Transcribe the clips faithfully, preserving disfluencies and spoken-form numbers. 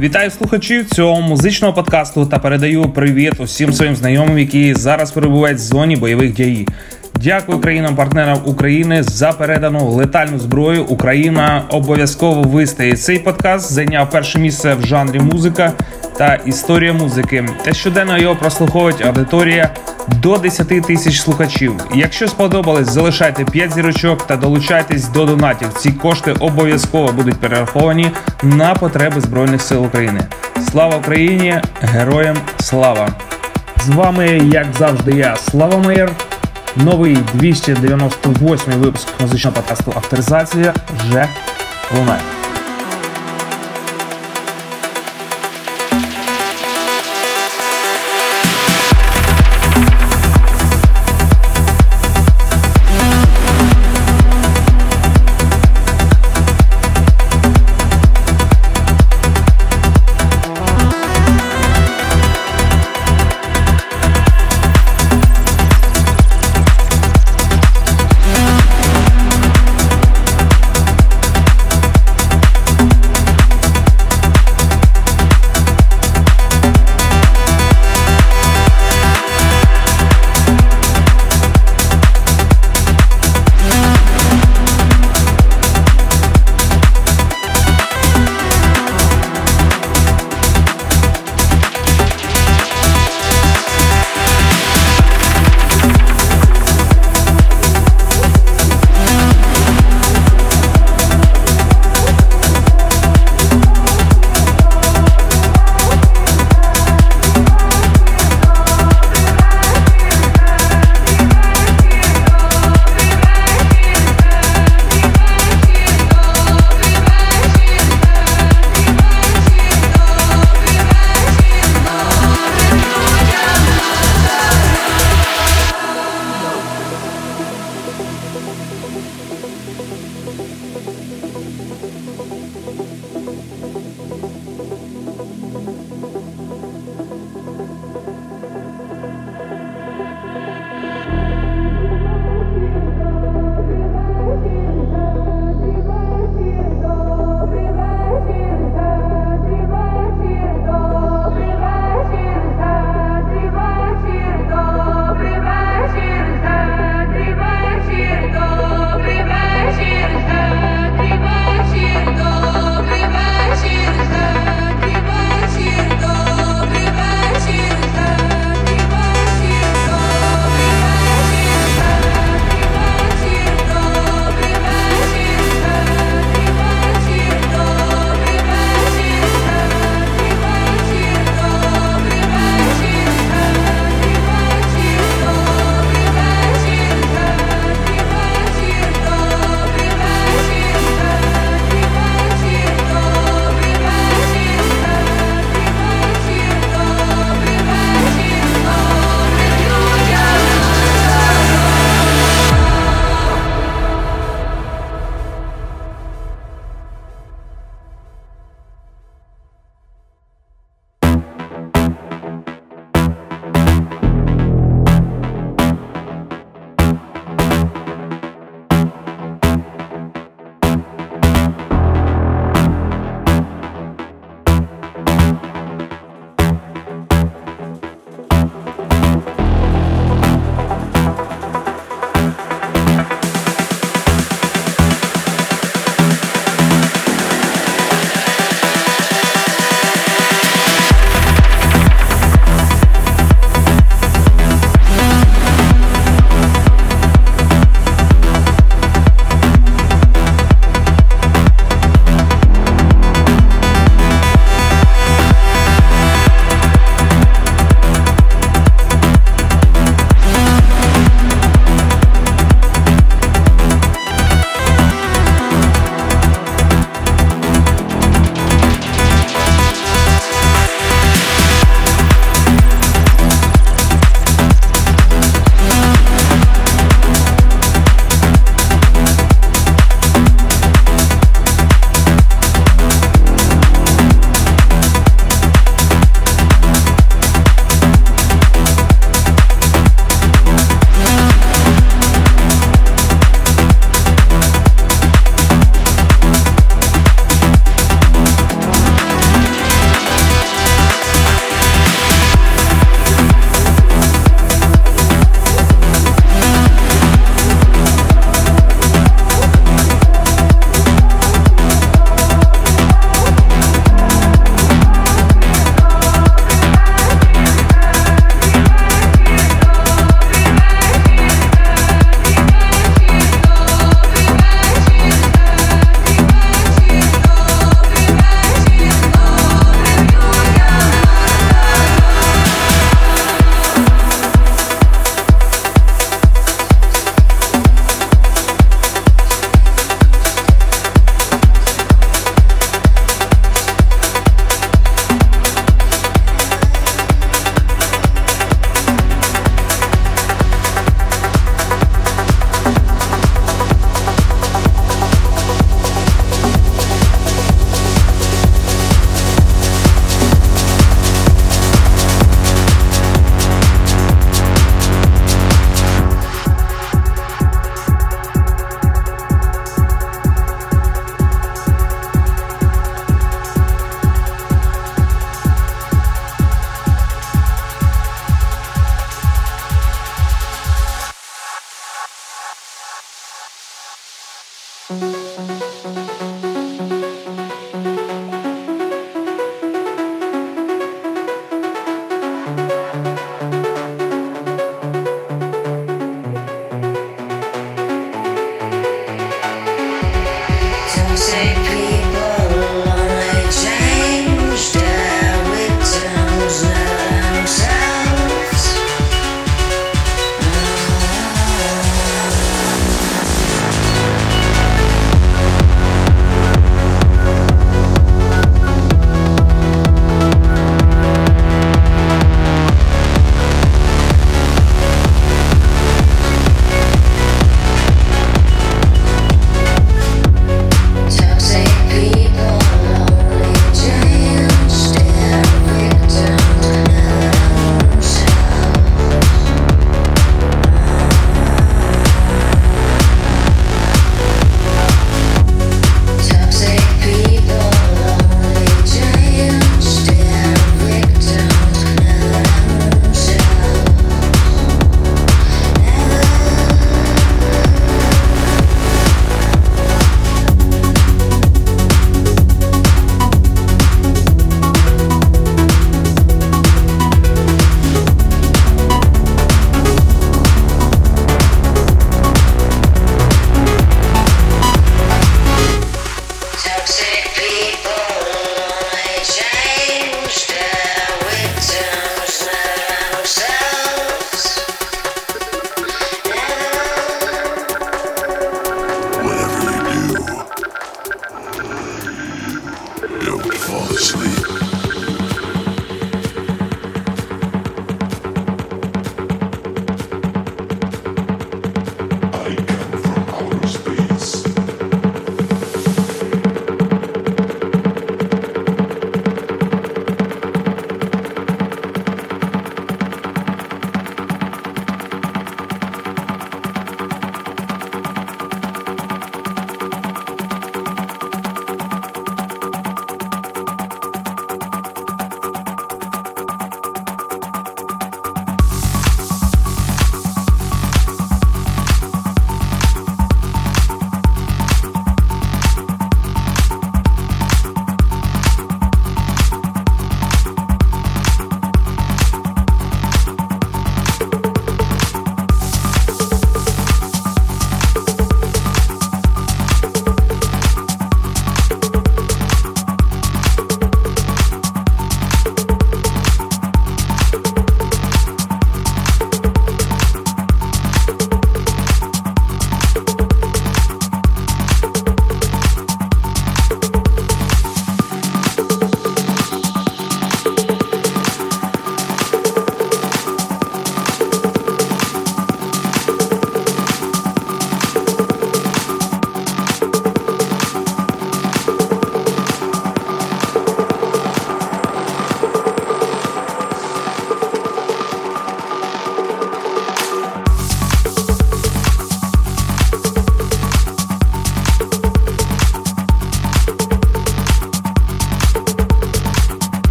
Вітаю слухачів цього музичного подкасту та передаю привіт усім своїм знайомим, які зараз перебувають в зоні бойових дій. Дякую країнам-партнерам України за передану летальну зброю. Україна обов'язково вистоїть. Цей подкаст зайняв перше місце в жанрі музика та історія музики. Та щоденно його прослуховують аудиторія до десять тисяч слухачів. Якщо сподобалось, залишайте п'ять зірочок та долучайтесь до донатів. Ці кошти обов'язково будуть перераховані на потреби Збройних сил України. Слава Україні! Героям слава! З вами, як завжди, я, Слава Меєр. Новий двісті дев'яносто восьмий випуск музичного подкасту «Авторизація» вже лунає.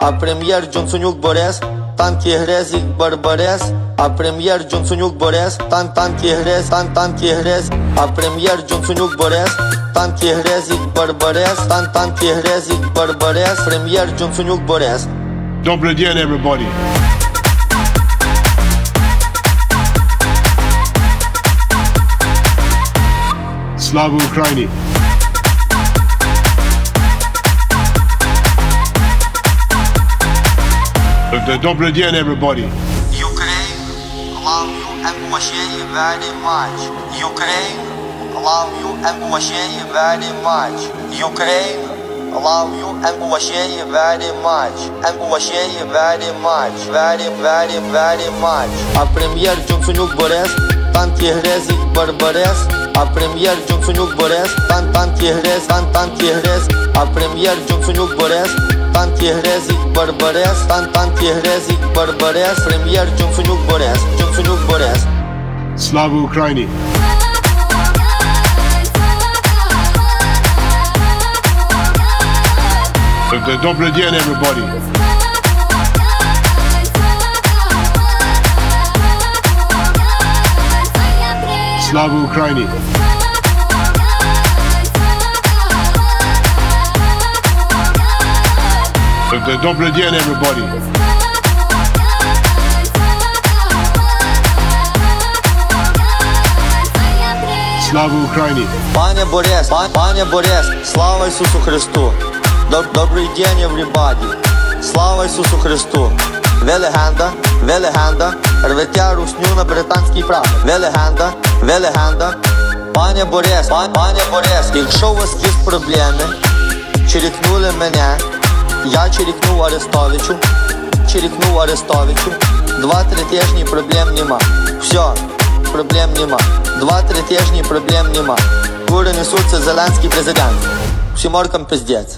а прем'єр Джонсонюк Борис, танки Грезік Барбарес, а прем'єр Джонсонюк Борис, тан танки Грез, тан танки Грез, а прем'єр Джонсонюк Борис, танки Грезік Барбарес, тан танки Грезік Барбарес, прем'єр Джонсонюк Борис. Добрый день, everybody. Слава Украине. Добрый день, everybody. Ukraine, love you and appreciate you very much. Ukraine, love you and appreciate you very much. Ukraine, love you and appreciate you very much. And appreciate you very much. Very, very, very much. А прем'єр Джонсонюк Борис, танки Грезік Барбарес, а прем'єр Джонсонюк Борис, тан танки Грез, тан танки Грез, а прем'єр Джонсонюк Борис, танки Грезік Барбарес, тан танки Грезік Барбарес, прем'єр Джонсонюк Борис, Джонсонюк Борис. Слава Украине. Добрый день, everybody. Слава Украине. Добрый день, everybody. Слава Украине. Пане Борис, пан, пане Борис, слава Ісусу Христу. Доб, добрий день, everybody. Слава Ісусу Христу. Ви легенда, ви легенда, рветя русню на британський прапор. Ви легенда, ви легенда. Пане Борис, пан, пане Борис, якщо у вас є проблеми, чирікнули мене, я чирікнув Арестовичу, чирікнув Арестовичу. Два-три тижні проблем нема. Все, проблем нема. Два-три тижні проблем нема. Кури несуться Зеленський президент. Всім оркам пиздець.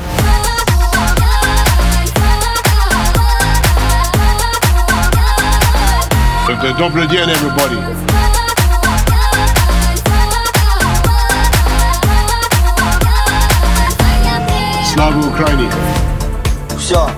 Добрый день, everybody. Слава Украине. Все.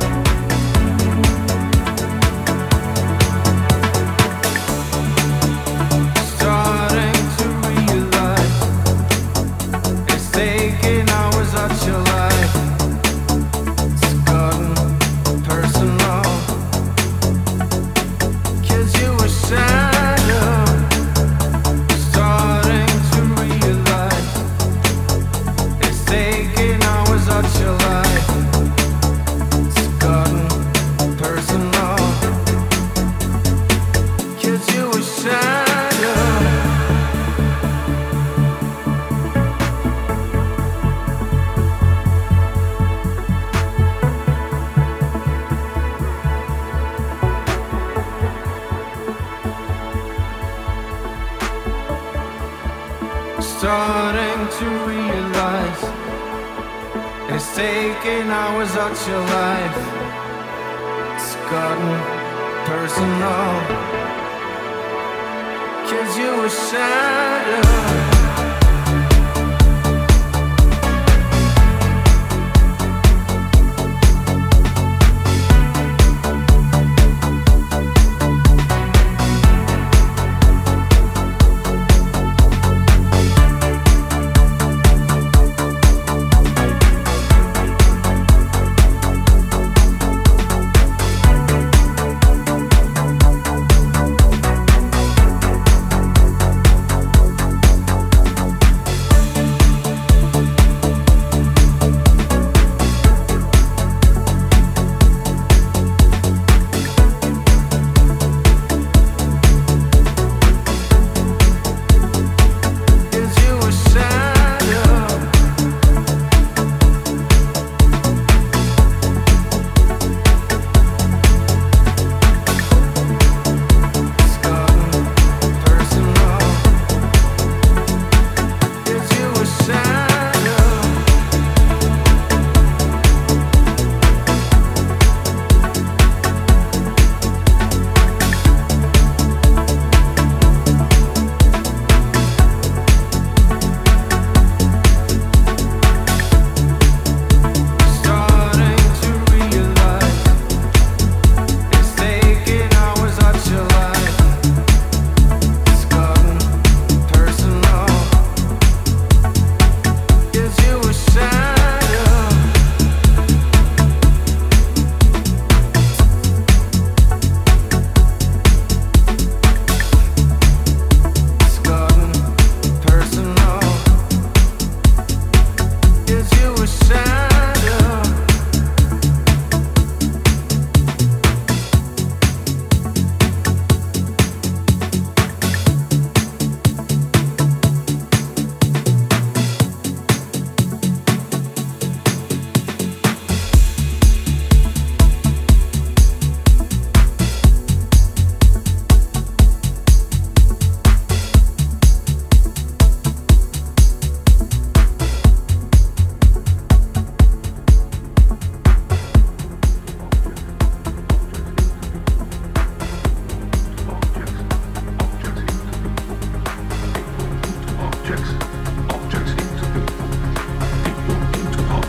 Starting to realize it's taking hours out your life. It's gotten personal, 'cause you were shattered.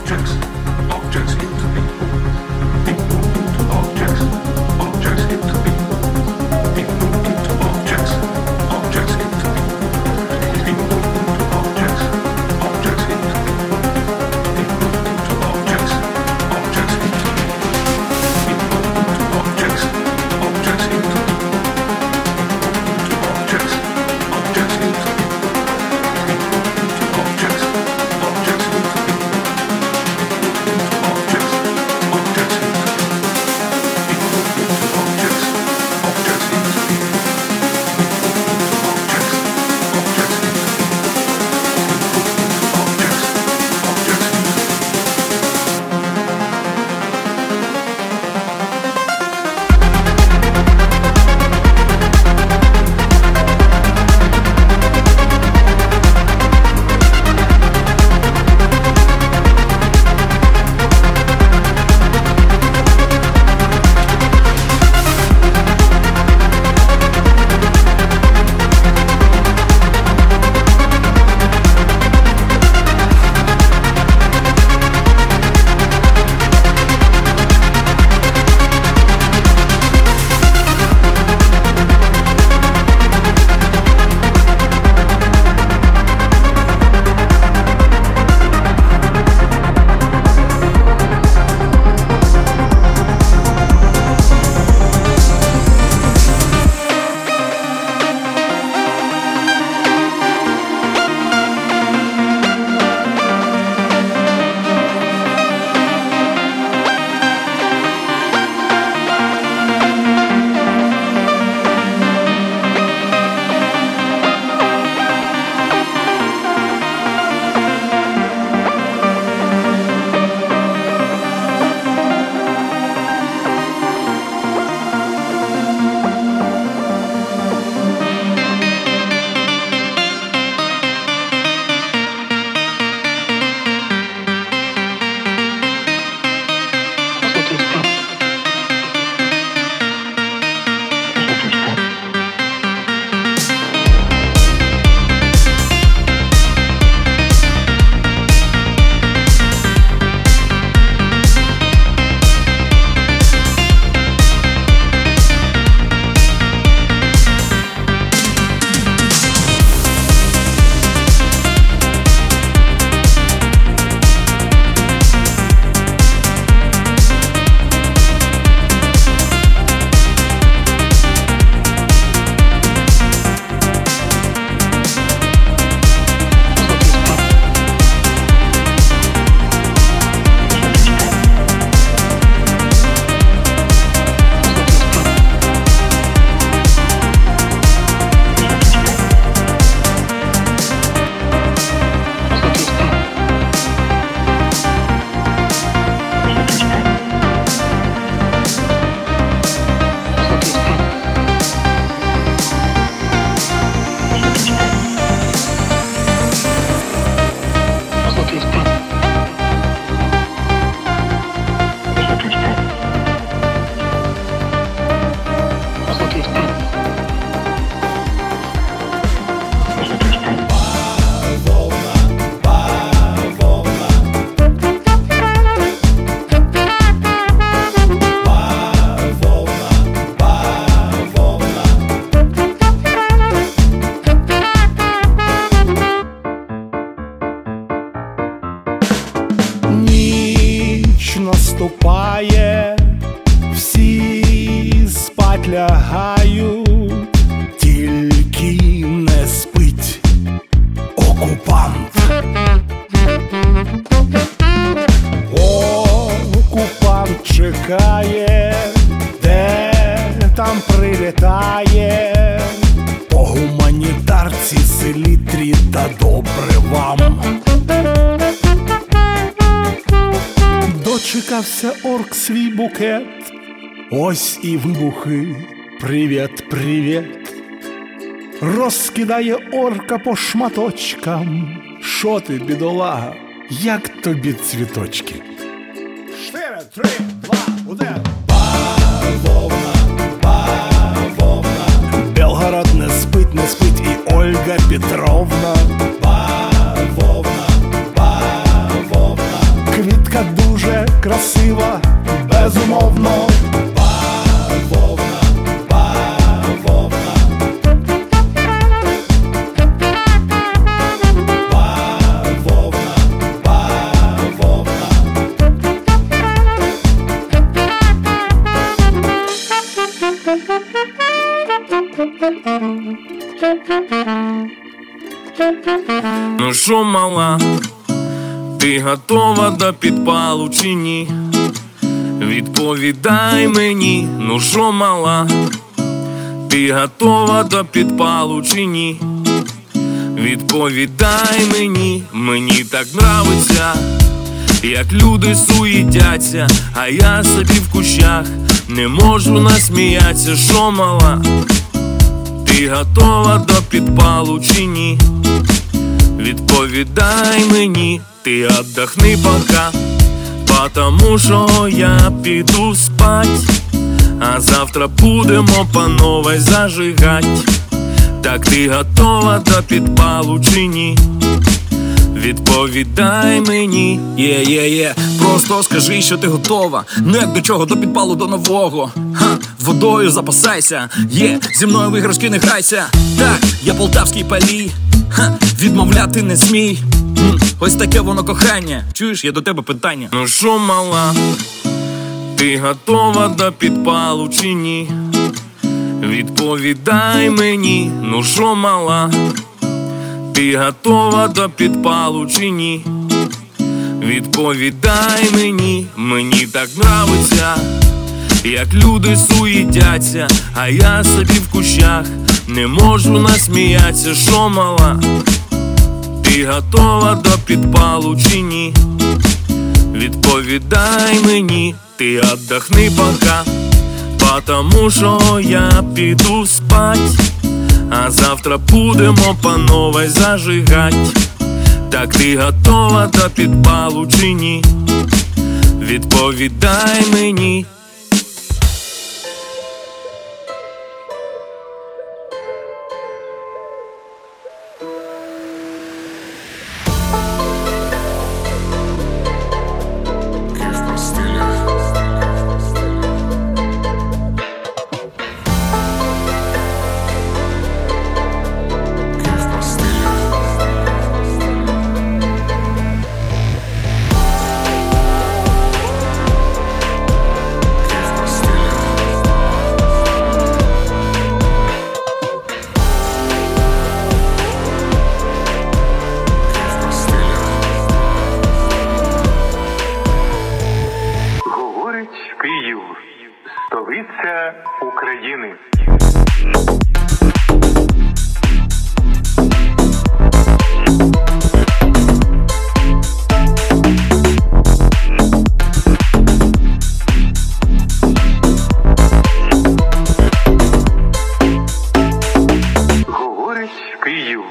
наступає, всі спать лягають, тільки не спить окупант. Окупант чекає, де там прилітає, по гуманітарці селітрі та добре вам. Дочекався орк свій букет, ось і вибухи, привіт, привіт. Розкидає орка по шматочкам. Шо ти, бідолага, як тобі цвіточки? Чотири, три, два, один. Бавовна, бавовна. Белгород не спить, не спить і Ольга Петровна. Бавовна, бавовна. Квітка що, мала, ти готова до підпалу чи ні? Відповідай мені, ну що, мала, ти готова до підпалу чи ні? Відповідай мені, мені так нравиться, як люди суїтяться, а я собі в кущах не можу насміятися. Що, мала, ти готова до підпалу чи ні? Відповідай мені, ти отдохни пока, потому що я піду спать, а завтра будемо по новой зажигать. Так ти готова до підпалу чи ні? Відповідай мені, є-є-є, просто скажи, що ти готова. Ну як до чого, до підпалу, до нового. Ха, водою запасайся, є, зі мною в іграшки не грайся. Так, я полтавський палій, ха, відмовляти не смій. М, ось таке воно кохання. Чуєш, є до тебе питання. Ну що, мала, ти готова до підпалу чи ні? Відповідай мені, ну що, мала, ти готова до підпалу чи ні? Відповідай мені, мені так нравиться, як люди суїтяться, а я собі в кущах не можу насміятися. Що, мала, ти готова до підпалу чи ні? Відповідай мені, ти отдохни пока, потому що я піду спать, а завтра будемо по новой зажигать. Так ти готова до підпалу чи ні? Відповідай мені. Київ, столиця України. Говорить Київ.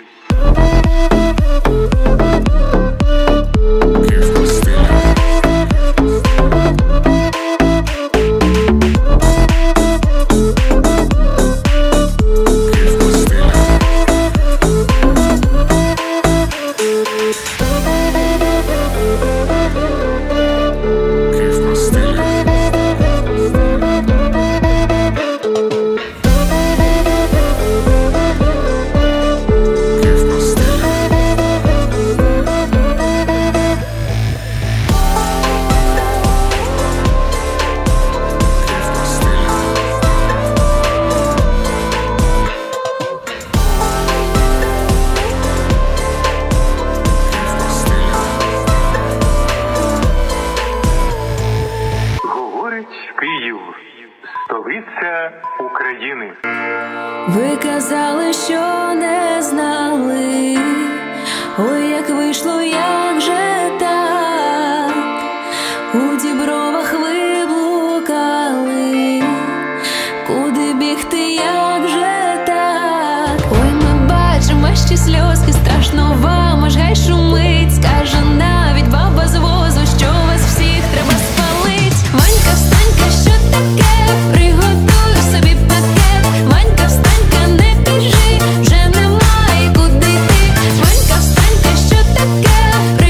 Київ, столиця України. Ви казали, що не знали, ой, як вийшло, як же так, у дібровах ви блукали, куди бігти, як же так. Ой, ми бачимо, ще сльозки, страшно вам, аж гай шумить, скаже навіть баба з возу, що вас всіх треба спалить. Ванька, встанька, що таке? Приготуй собі пакет. Ванька, встанька, не біжи, вже немає куди йти. Ванька, встанька, що таке?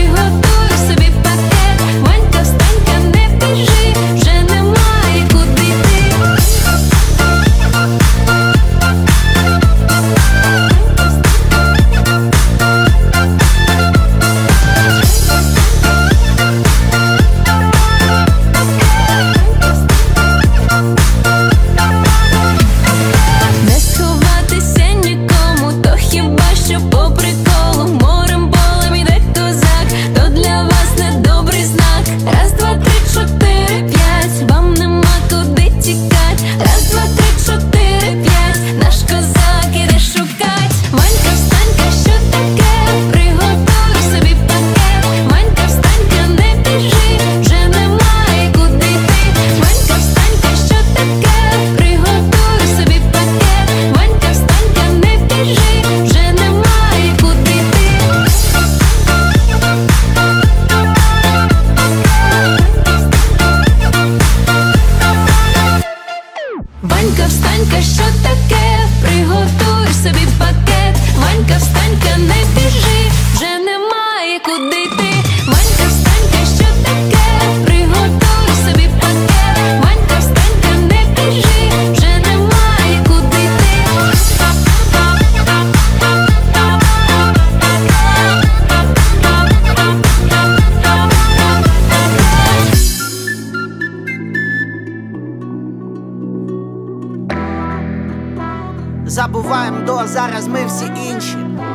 забуваємо до, зараз ми всі інші.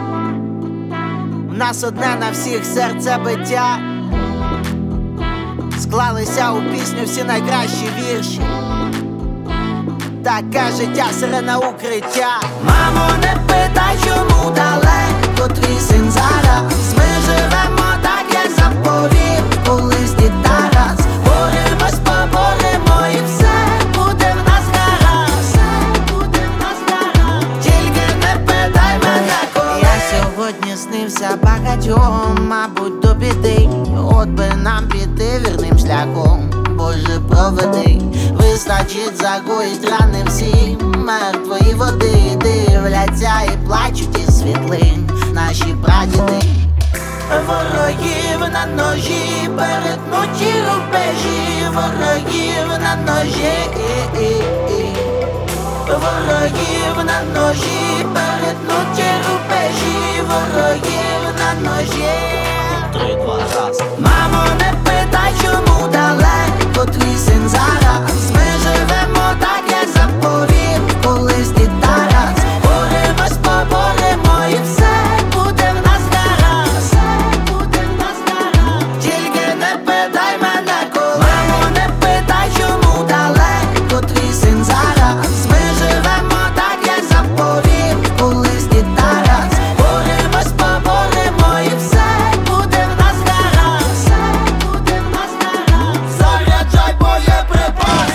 У нас одне на всіх серцебиття. Склалися у пісню всі найкращі вірші. Таке життя, сирена укриття. Мамо, не питай, чому далеко твій син зараз. Ми живемо так, як заповів колись дід Тарас. Боремось, поборемо і все буде в нас гаразд. Все буде в нас гаразд. Тільки не питай мене, коли. Я сьогодні снився багатьом, мабуть, до біди. От би нам піти вірним шляхом, Боже, проведи. Вистачить загоїть рани всі мертвої води. Дивляться і плачуть із світлин наші прадіди. Ворогів на ножі, перетнуті рубежі. Ворогів на ножі, ворогів на ножі, перетнуті рубежі. Ворогів на ножі. Три, два, раз. Мамо, не питай, чому далеко твій син зараз. Ми живемо так, як заповів колись дід Тарас. Боремось, поборемо і все буде в нас гаразд. Все буде в нас гаразд. Тільки не питай мене, коли. Мамо, не питай, чому далеко твій син зараз. Ми живемо так, як заповів колись дід Тарас. Боремось, поборемо і все буде в нас гаразд. Все буде в нас гаразд. Заряджай боєприпас.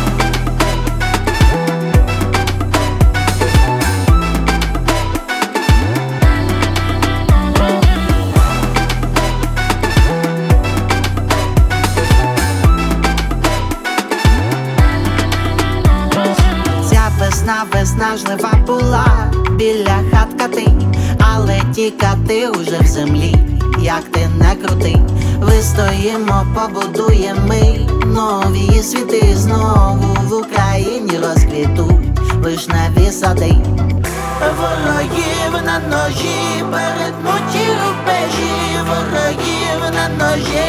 Ця весна виснажлива була біля хат кати, але ті кати уже в землі, як ти не крути. Вистоїмо, побудуємо ми нові світи. Знову в Україні розквітуть вишневі сади. Ворогів на ножі, перетнуті рубежі. Ворогів на ножі,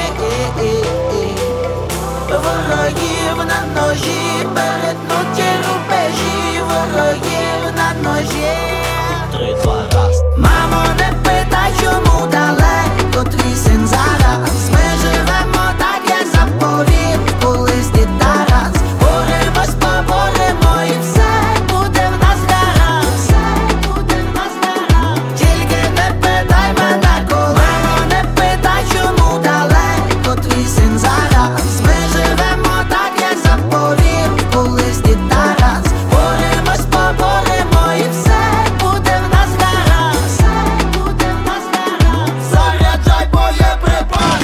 ворогів на ножі, перетнуті рубежі. Ворогів на ножі. Три, два, раз. Мамо, не питай, чому далеко твій син зараз. Ми живемо так, як заповів колись дід Тарас. Боремось, поборемо і все буде в нас гаразд. Все буде в нас гаразд. Тільки не питай мене, коли. Мамо, не питай, чому далеко твій син зараз. Ми живемо так, як заповів колись дід Тарас. Боремось, поборемо і все буде в нас гаразд. Все буде в нас гаразд. Заряджай боєприпас.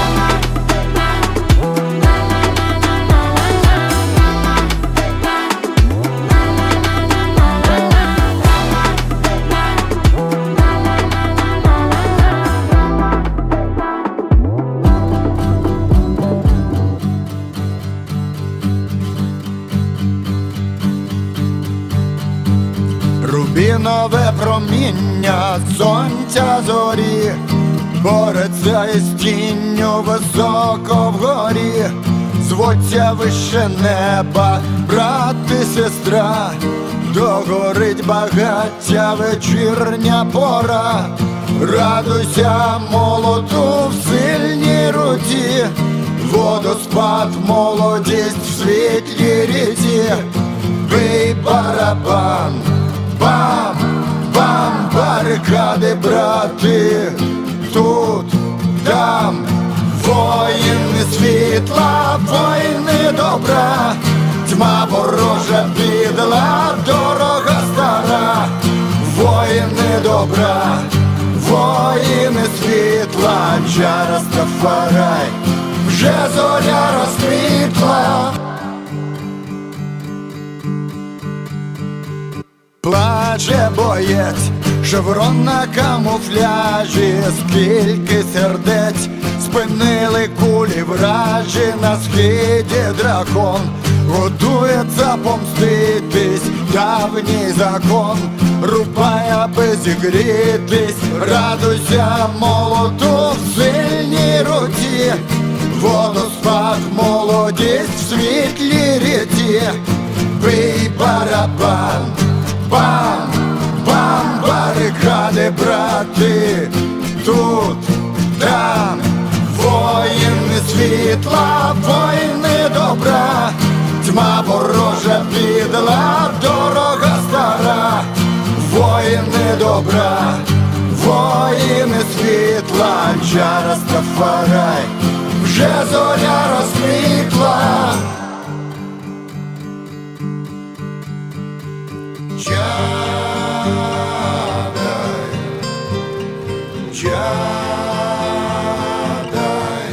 Рубінове проміння сонця зорі бореться із тінню високо вгорі. Звуться вище неба, брат і сестра, догорить багаття вечірня пора. Радуйся, молоту в сильній руці, водоспад, молодість в світлій ріці. Бий барабан, бам, бам, барикади, брати, тут, там, воїни світла, воїни добра, тьма ворожа підла, дорога стара, воїни добра, воїни світла, Джа Растафарай, вже зоря розквітла. Плаче боєць, шеврон на камуфляжі, скільки сердець спинили кулі вражі. На схиді дракон готується помститись, давній закон рубай, аби зігрітись. Радуйся, молоту в сильній руці, водоспад, молодість в світлій ріці. Бий барабан, бам, брати, брати, тут, там, воїни світла, воїни добра, тьма ворожа підла, дорога стара, воїни добра, воїни світла, Джа Растафарай, вже зоря розквітла. Джадай, Джадай,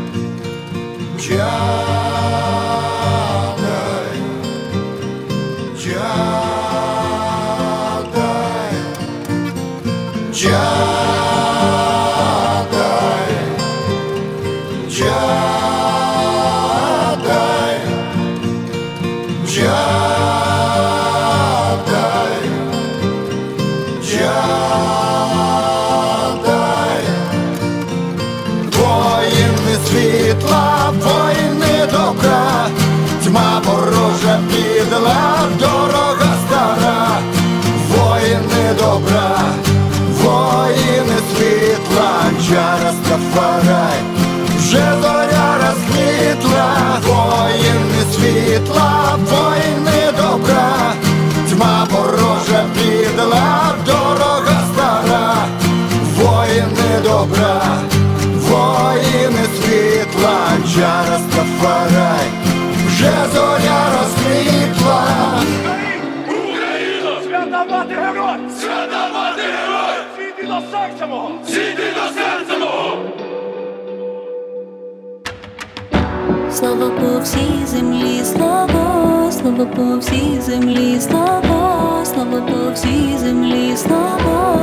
Джадай, Джадай, Джадай, Джадай, Джадай, Джадай. Воїни світла, воїни добра, тьма ворожа підла, дорога стара, воїни добра, воїни світла, Джа Растафарай, вже зоря розквітла, воїни світла, воїни добра, тьма ворожа підла, дорога стара, воїни добра, воїни світла, Джа Растафарай, вже зоря розквітла. Україно! Свята мати герой! Свята мати герой! Світи до серця мого! Світи до серця мого! Слава по всій землі, слава, слава по всій землі, слава, слава по всій землі, слава.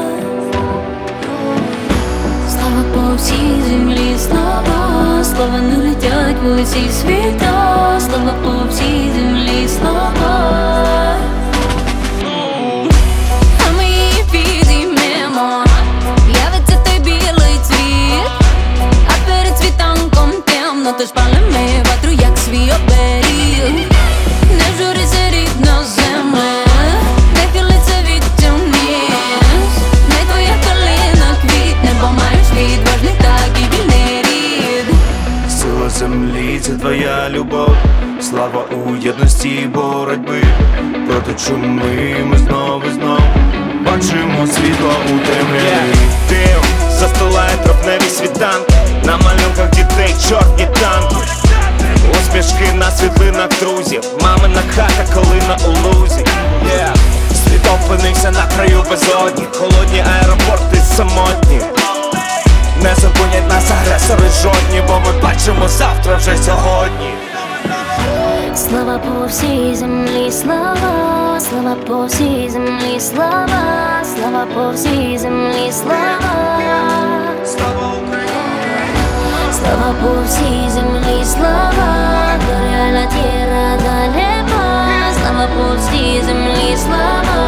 Слава по всій землі, слава, слава не летять в усі світа, слава по всій землі, слава. А ми її підіймемо, явиться той білий цвіт, а перед світанком темно, тож палимо ватру, як свій оберіг. Не журися, рідна земля, не хилиться від тюрміс, не твоя калина квітне, бо маєш відважний так і вільний рід. Сила землі – це твоя любов, слава у єдності і боротьби. Проти чуми ми знову і знов бачимо світло у темряві. Дим застилає травневі світанки, на малюнках дітей чорні танки, усмішки на світлинах друзів, мамина хата, калина у лузі. yeah. Світ опинився на краю безодні, холодні аеропорти самотні. Не зупинять нас агресори жодні, бо ми бачимо завтра вже сьогодні. Слава по всій землі, слава, слава по всій землі, слава, слава по всій землі, слава. Слава Україні! Слава по всій землі, слава, горя la tierra до неба, слава по всій землі, слава.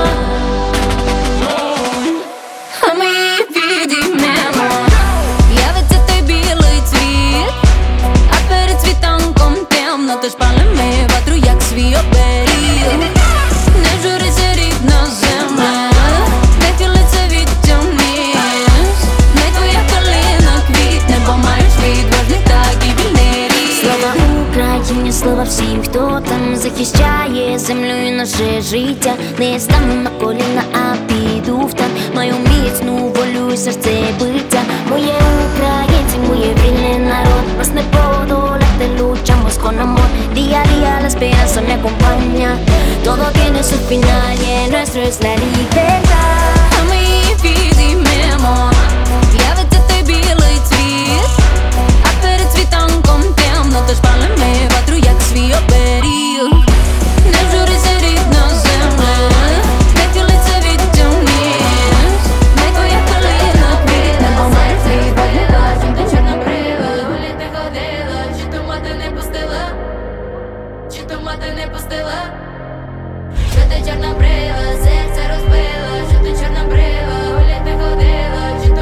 А ми її підіймемо, явиться той білий цвіт, а перед світанком темно, тож палимо ватру, як свій оберіг. Не журися, рідна земля, не хилиться від тюрміс, не твоя калина квітне, бо маєш відважний так і вільний рід. Слава Україні, слава всім, хто там захищає землю і наше життя. Не стану на коліна, а піду в танк, маю міцну волю і серце биття. Моє українці, моє вільний народ, нас не подолати, luchamos con amor. Día a día la esperanza me acompaña, todo tiene su final y el nuestro es la libertad. А ми її підіймемо, явиться той білий цвіт, а перед світанком темно, тож палимо ватру, як свій оберіг. Не журися, рідна земля, не хилиться від тюрміс, не твоя калина квітне, бо маєш відважний так, чим ти чорнобрива. Гулі ти ходила, чи то мати не пустила, чи то мати не пустила. Що ти чорнобрива, серце розбила, що ти чорнобрива, гулі ти ходила, чи то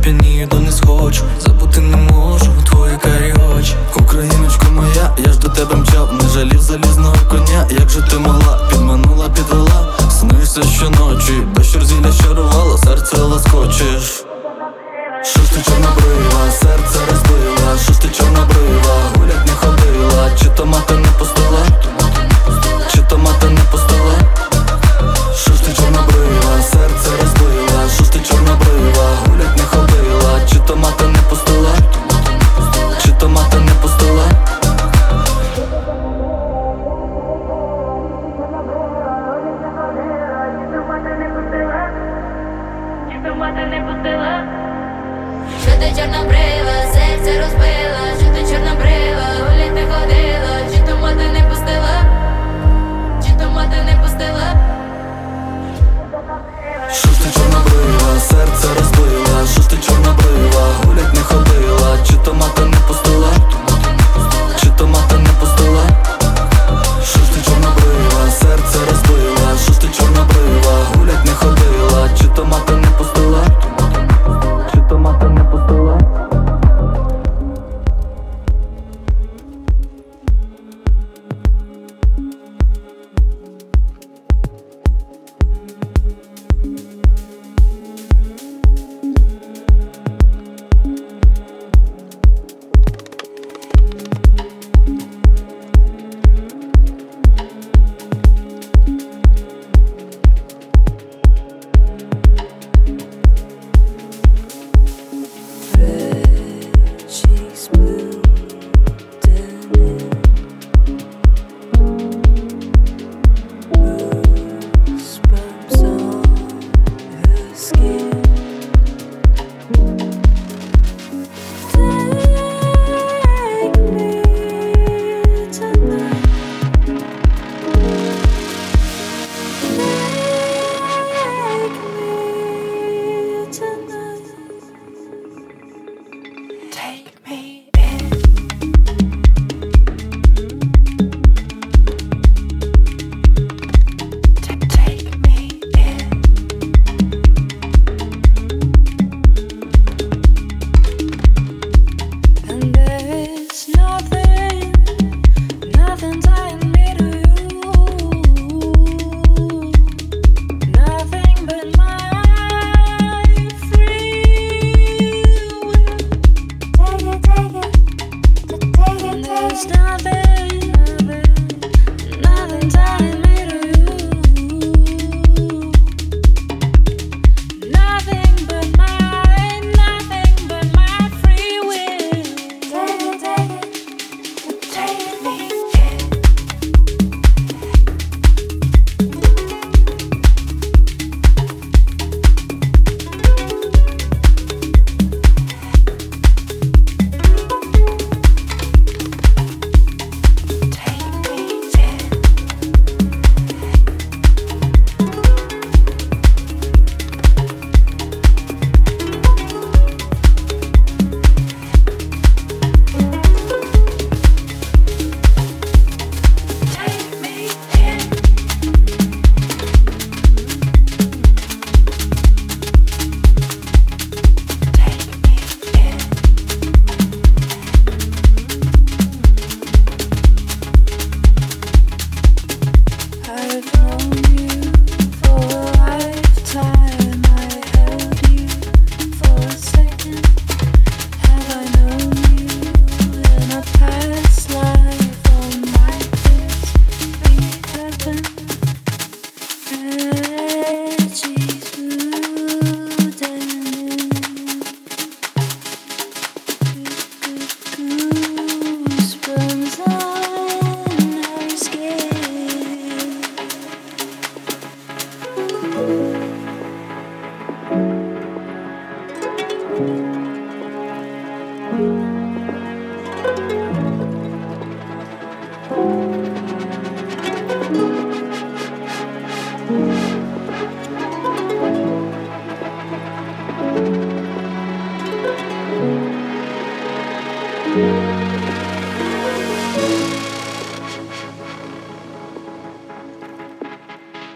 сп'янію, то не схочу. Забути не можу твої карі очі. Україночко моя, я ж до тебе мчав, не жалів залізного коня. Як же ти могла, підманула, підвела. Снишся щоночі, дощ розілля щарувало, серце лоскочеш. Що ж ти чорнобрива, серце розбила. Що ж ти чорнобрива, гулять не ходила. Чи то мати не пустила, чи то мати не пустила. Що ж ти чорнобрива, серце розбила. Що ж ти чорнобрива, гулять не ходила. Чи то мати не пустила, чи то мати не пустила. Що ти чорнобрива, серце розбила. Що ти чорнобрива, гулять не ходила. Чи то мати не пустила, чи то мати не пустила. Що ж ти чорнобрива, серце розбила. Що ж ти чорнобрива, гулять не ходила. Чи то мати не пустила, чи то мати не пустила. Що ж ти чорнобрива, серце розбила. Що ж ти чорнобрива, гулять не ходила. Чи то мати не пустила, чи то мати не пустила.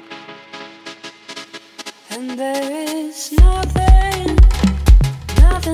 And there is nothing, nothing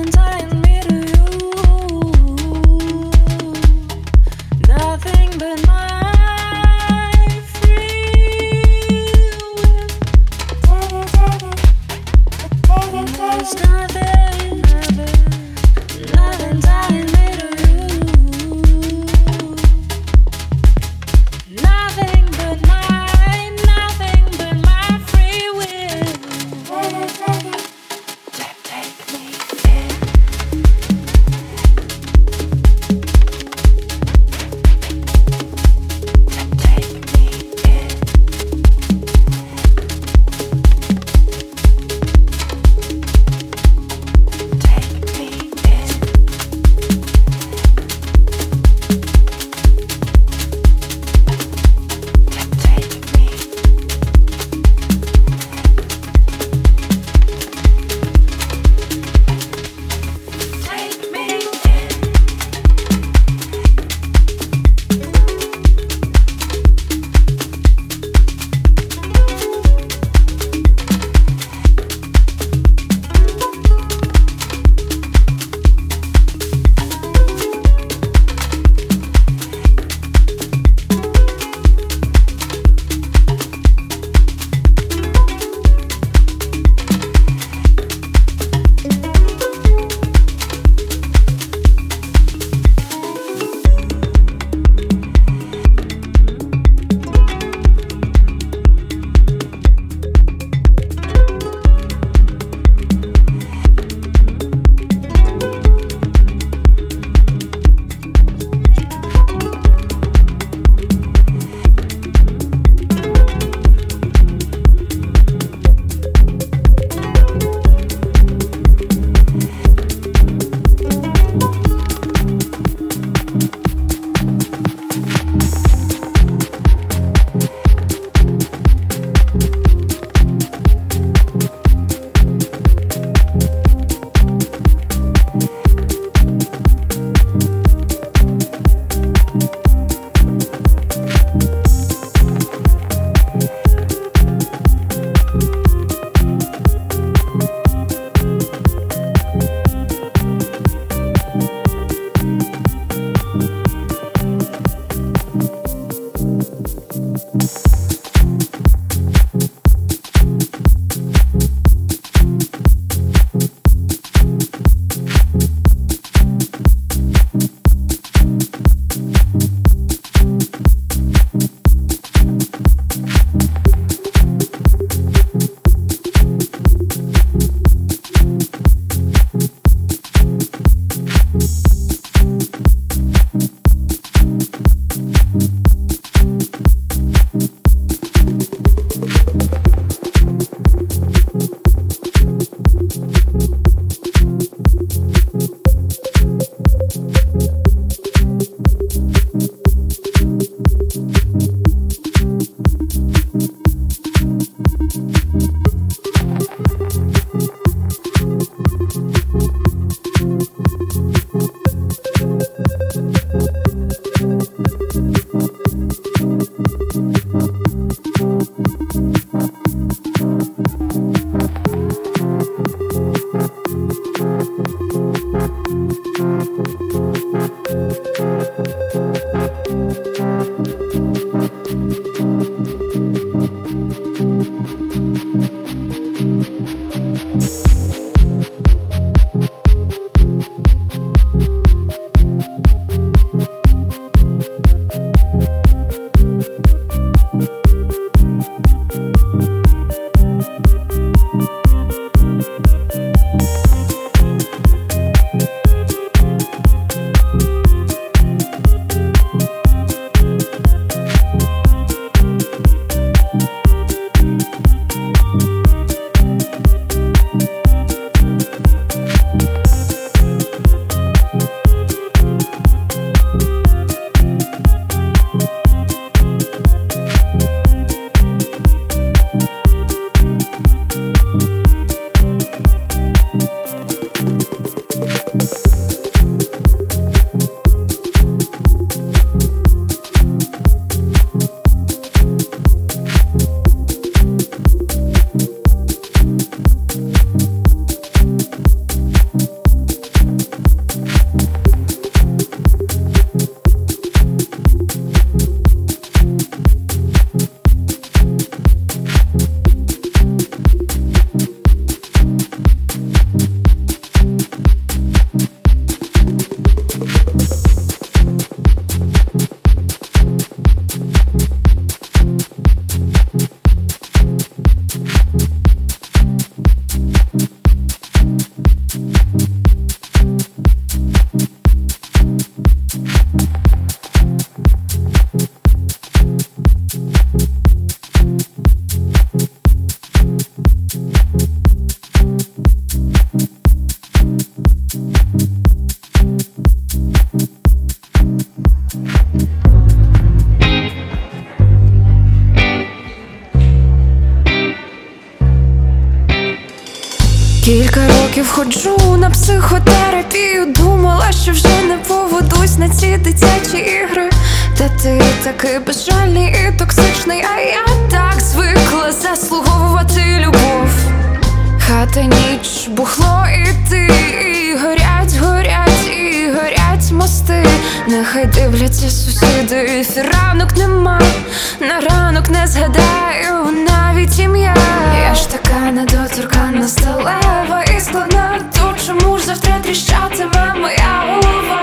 ходжу на психотерапію, думала, що вже не поведусь на ці дитячі ігри. Та ти такий безжальний і токсичний, а я так звикла заслуговувати любов. Хата, ніч, бухло і ти, і горять, горять, і горять мости. Нехай дивляться сусіди, ранок нема, на ранок не згадаю навіть ім'я. Я ж така недоторканна, сталева і складна, то чому ж завтра тріщатиме моя голова?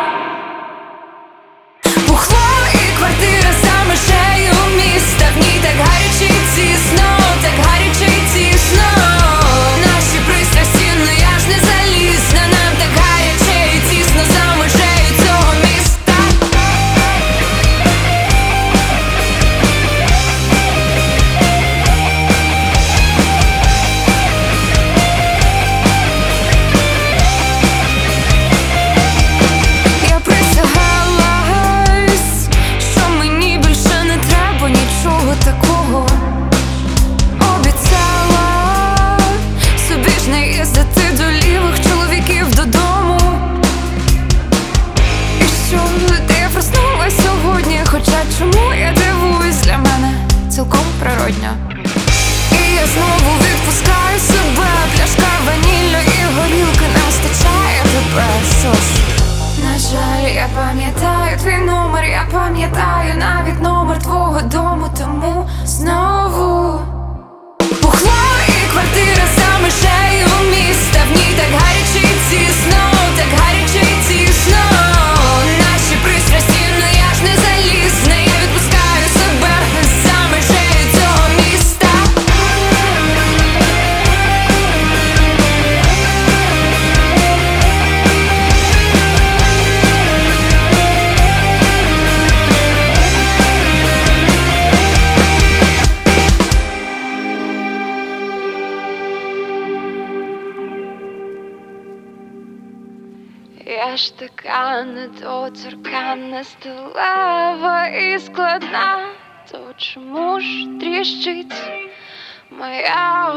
Бухло і квартира за межею міста, в ній так гаряче й тісно, так гаряче й тісно. Наші пристрасті, ну я ж не залізна, нам так гаряче й тісно за межею цього міста. Я присягала, що мені більше не треба нічого такого. Обіцяла собі ж не їздити до лівих чоловіків додому. І що ти проснулась сьогодні, хоча чому я дивуюсь, для мене цілком природньо. І я знову відпускаю себе, пляшка ванільної горілки не вистачає тебе. Що ж, на жаль, я пам'ятаю твій номер, я пам'ятаю навіть номер твого дому, тому знову бухло і квартира за межею міста, в ній так гаряче й тісно, так гаряче й тісно. Наші пристрасті, ну я ж не залізна, я відпускаю себе за межею цього міста. Я ж така недоторканна, сталева і складна, то чому ж тріщить моя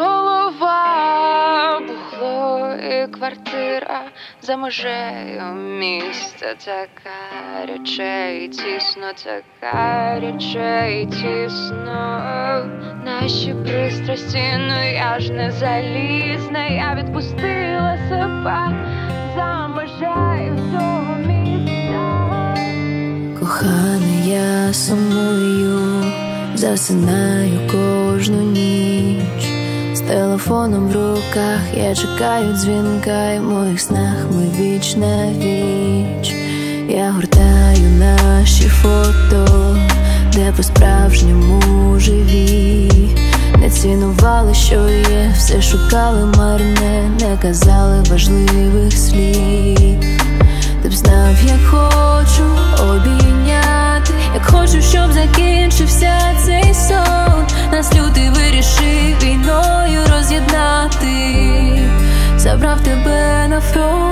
голова? Бухло і квартира за межею міста, так гаряче і тісно, так гаряче і тісно. Наші пристрасті, ну я ж не залізна, я відпустила себе за межею цього міста. Коханий, я сумую, засинаю кожну ніч. З телефоном в руках я чекаю дзвінка, і в моїх снах ми віч на віч. Я гортаю наші фото, де по-справжньому живі. Не цінували, що є, все шукали марне, не казали важливих слів. Ти б знав, як хочу обійняти, як хочу, щоб закінчився цей сон. Нас лютий вирішив війною роз'єднати, забрав тебе на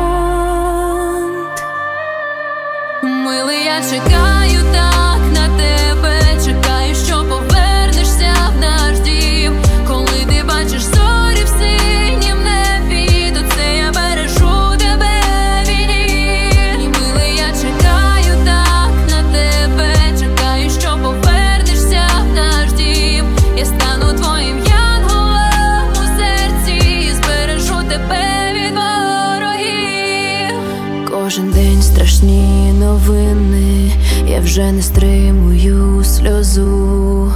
фронт. Милий, я чекаю так на тебе, чекаю, що повернешся в наш дім. Коли ти бачиш зорі в синім небі, то це я бережу тебе війні. Милий, я чекаю так на тебе, чекаю, що повернешся в наш дім. Я стану твоїм янголом у серці і збережу тебе від ворогів. Кожен день страшні новини, я вже не стримую сльозу.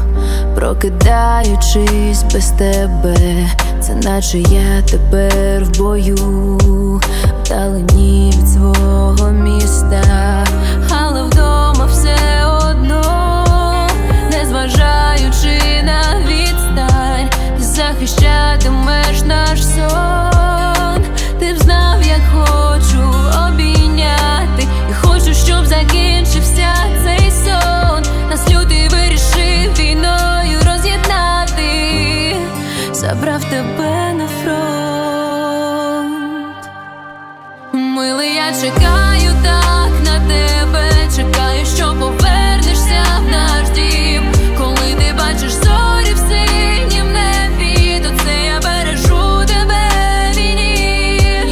Прокидаючись без тебе, це наче я тепер в бою, вдалині від свого міста, але вдома все одно, незважаючи на відстань, ти захищатимеш наш сон. Ти б знав, як хочу обійняти, і хочу, щоб закінчився цей сон. Нас лютий вирішив війною роз'єднати, забрав тебе на фронт. Милий, я чекаю так на тебе, чекаю, що повернешся в наш дім. Коли ти бачиш зорі в синім небі, то це я бережу тебе війні.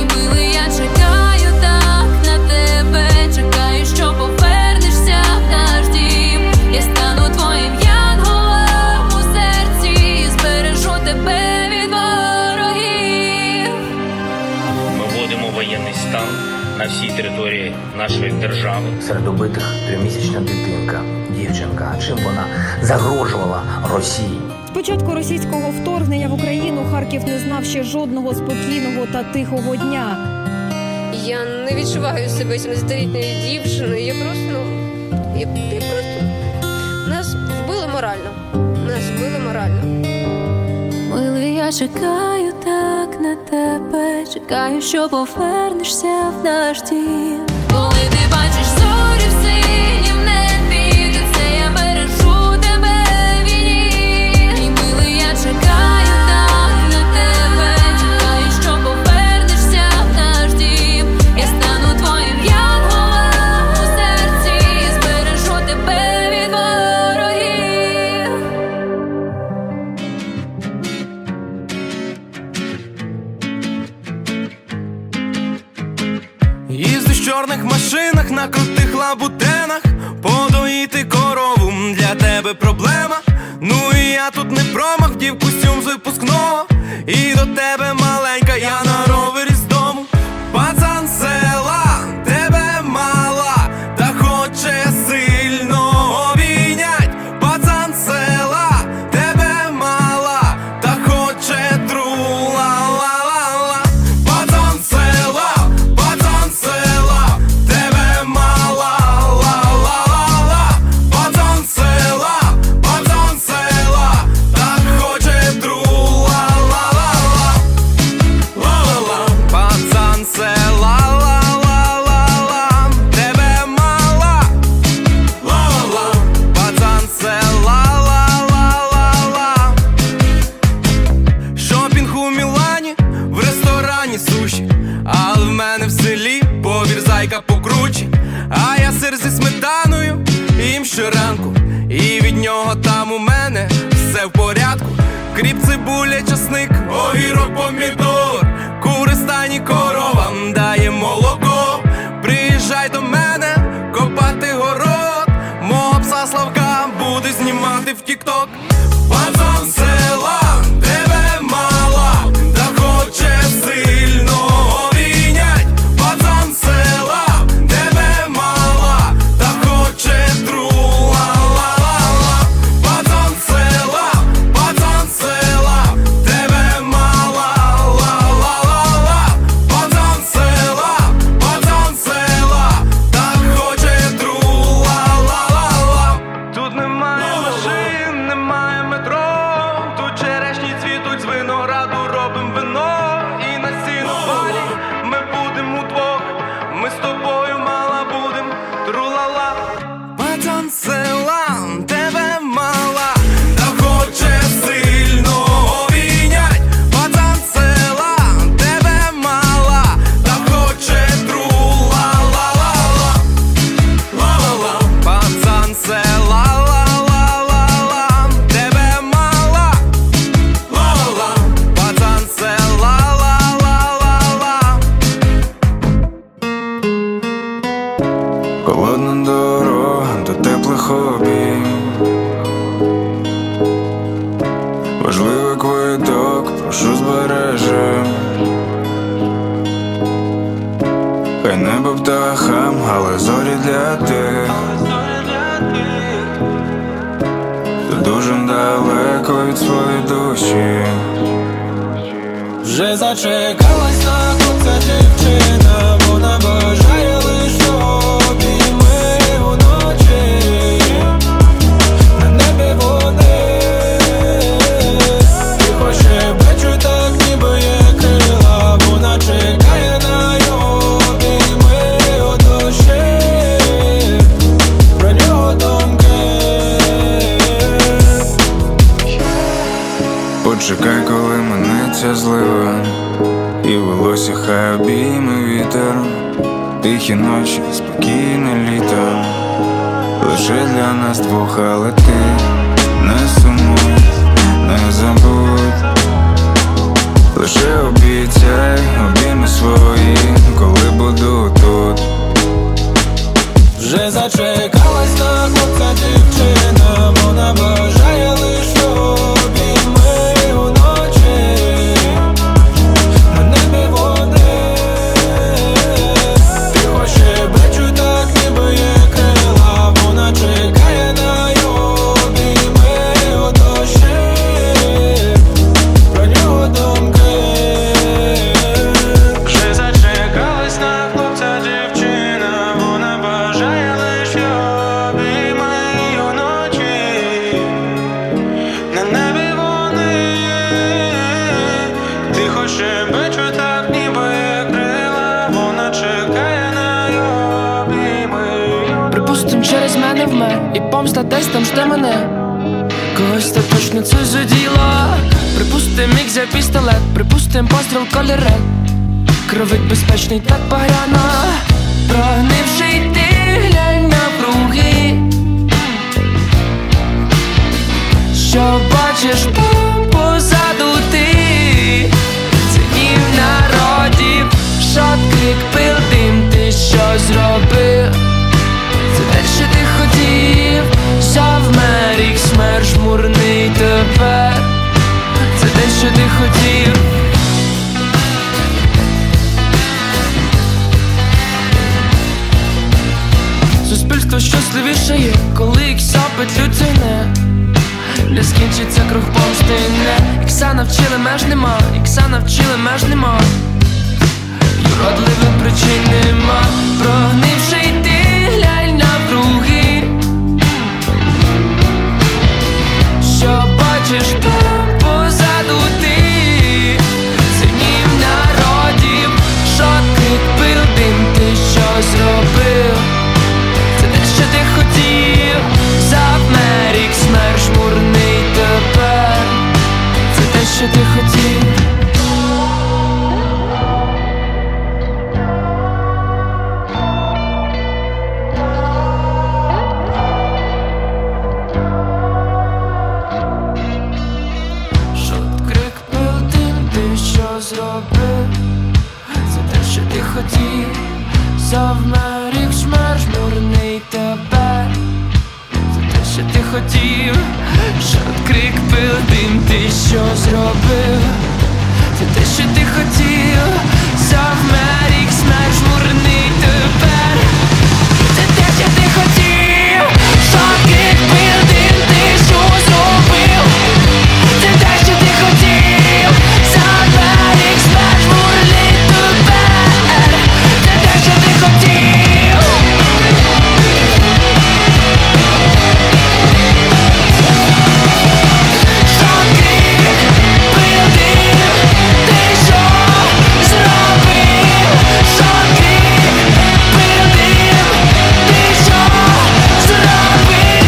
на всій території нашої держави. Серед убитих трьохмісячна дитинка, дівчинка. Чим вона загрожувала Росії? З початку російського вторгнення в Україну Харків не знав ще жодного спокійного та тихого дня. Я не відчуваю себе сімнадцятилітньою дівчиною. Я просто, ну, я, я просто... Нас вбили морально. Нас вбили морально. Милий, я чекаю так на тебе, чекаю, що повернешся в наш дім. Коли ти бачиш зорі в синім небі, то це я бережу тебе в війні. Мій милий, я чекаю так на тебе, чекаю, що повернешся в наш дім. Я стану твоїм янголом у серці, збережу тебе від ворогів. Їзду в чорних машинах, на крутих лабутенах, подоїти корову для тебе проблема. Ну і я тут не промах, вдів костюм з випускного, і до тебе маленька, я на ровері з дому. Пацан з села, тебе мала, та хоче сильно обійнять. Пацан з села, тебе мала, та хоче тру-ла-ла-ла-ла. Пацан з села, пацан з села, тебе мала, ла-ла-ла-ла. Пацан з села, пацан з села, та хоче тру-ла-ла-ла-ла. Ла-ла-ла. Пацан з села, ла-ла-ла-ла, тебе мала, ла-ла-ла. Пацан з села, ла-ла-ла-ла. Шопінг у Мілані, в ресторані суші, але в мене в селі повір зайка покруче. А я сир зі сметаною їм щоранку, і від нього там у мене все в порядку. Кріп, цибуля, часник, огірок, помідор, кури, стайні, коровам дає молоко. Приїжджай до мене копати город, мого пса Славка буде знімати в тік-ток. Пацан з села, тебе мала, та хоче сильно обійнять. Пацан з села, тебе мала, та хоче тру-ла-ла-ла-ла. Пацан з села, пацан з села, тебе мала, ла-ла-ла-ла. Пацан з села, пацан з села, та хоче тру-ла-ла-ла-ла. Тут немає машин, немає метро, тут черешні цвітуть, з винограду робим вино. І на сінопалі ми будем удвох, ми з тобою мала будем, тру-ла-ла. Пацан з села, тебе мала, та хоче сильно обійнять. Пацан з села, тебе мала, та хоче тру-ла-ла-ла-ла. Ла-ла-ла. Пацан з села, ла-ла-ла-ла-ла, тебе мала, ла-ла-ла. Пацан з села, ла-ла-ла-ла-ла. Холодна дорога до теплих обійм, важливий квиток, прошу збережи. Хай небо птахам, але зорі для тих, хто дуже далеко від своєї душі. Вже зачекалась на хлопця дівчина, вона бажає лиш обійми уночі. На небі вони тихо щебечуть, так ніби є крила, вона чекає на його обійми у душі. Про нього думки. Почекай, коли минеться злива, і волосся хай обійме вітер. Тихі ночі, спокійне літо, лише для нас двох, але ти не сумуй, не забудь. Лише обіцяй обійми свої, коли буду тут. Вже зачекалась на хлопця дівчина, вона бажає лиш обійми уночі. На небі вони Припустим, через мене вмер, і помста десь там жде мене. Когось та точно це заділо. Припустим, міг взяв пістолет, припустим, постріл колір ред. Кровить безпечний, так багряно. Прогнивший ти, глянь навкруги. Що бачиш там позаду ти? Це дім народів, шот, крик, пил, дим. Ти що зробив? Це те, що ти хотів. Завмер їх смерть жмурний тепер. Це те, що ти хотів. Суспільство щасливіше є, коли їх запетлють ціни. Не скінчиться круг помсти, не. Ікса навчили, меж нема, ікса навчили, меж нема. Юродливих причин нема. Прогнивший ти, глянь навкруги. Що бачиш там позаду ти? Це дім народів, шот, крик, пил, дим. Ти що зробив? Це те, що ти хотів. Завмер їх смерть жмурний тепер. Це те, що ти хотів. Хотів, завмер їх смерть жмурний тепер. Це те, що ти хотів. Шот, крик, пил, дим. Ти що зробив? Це те, що ти хотів. Завмер їх смерть жмурний тепер. Це те, що ти хотів. Шот, крик, пил, дим. Ти що зробив? Це те, що ти хотів. Завмер їх смерть жмурний тепер. Що ти хотів? Що крик, пил, дим. Ти що зробив? Що крик, пил, дим. Ти що зробив?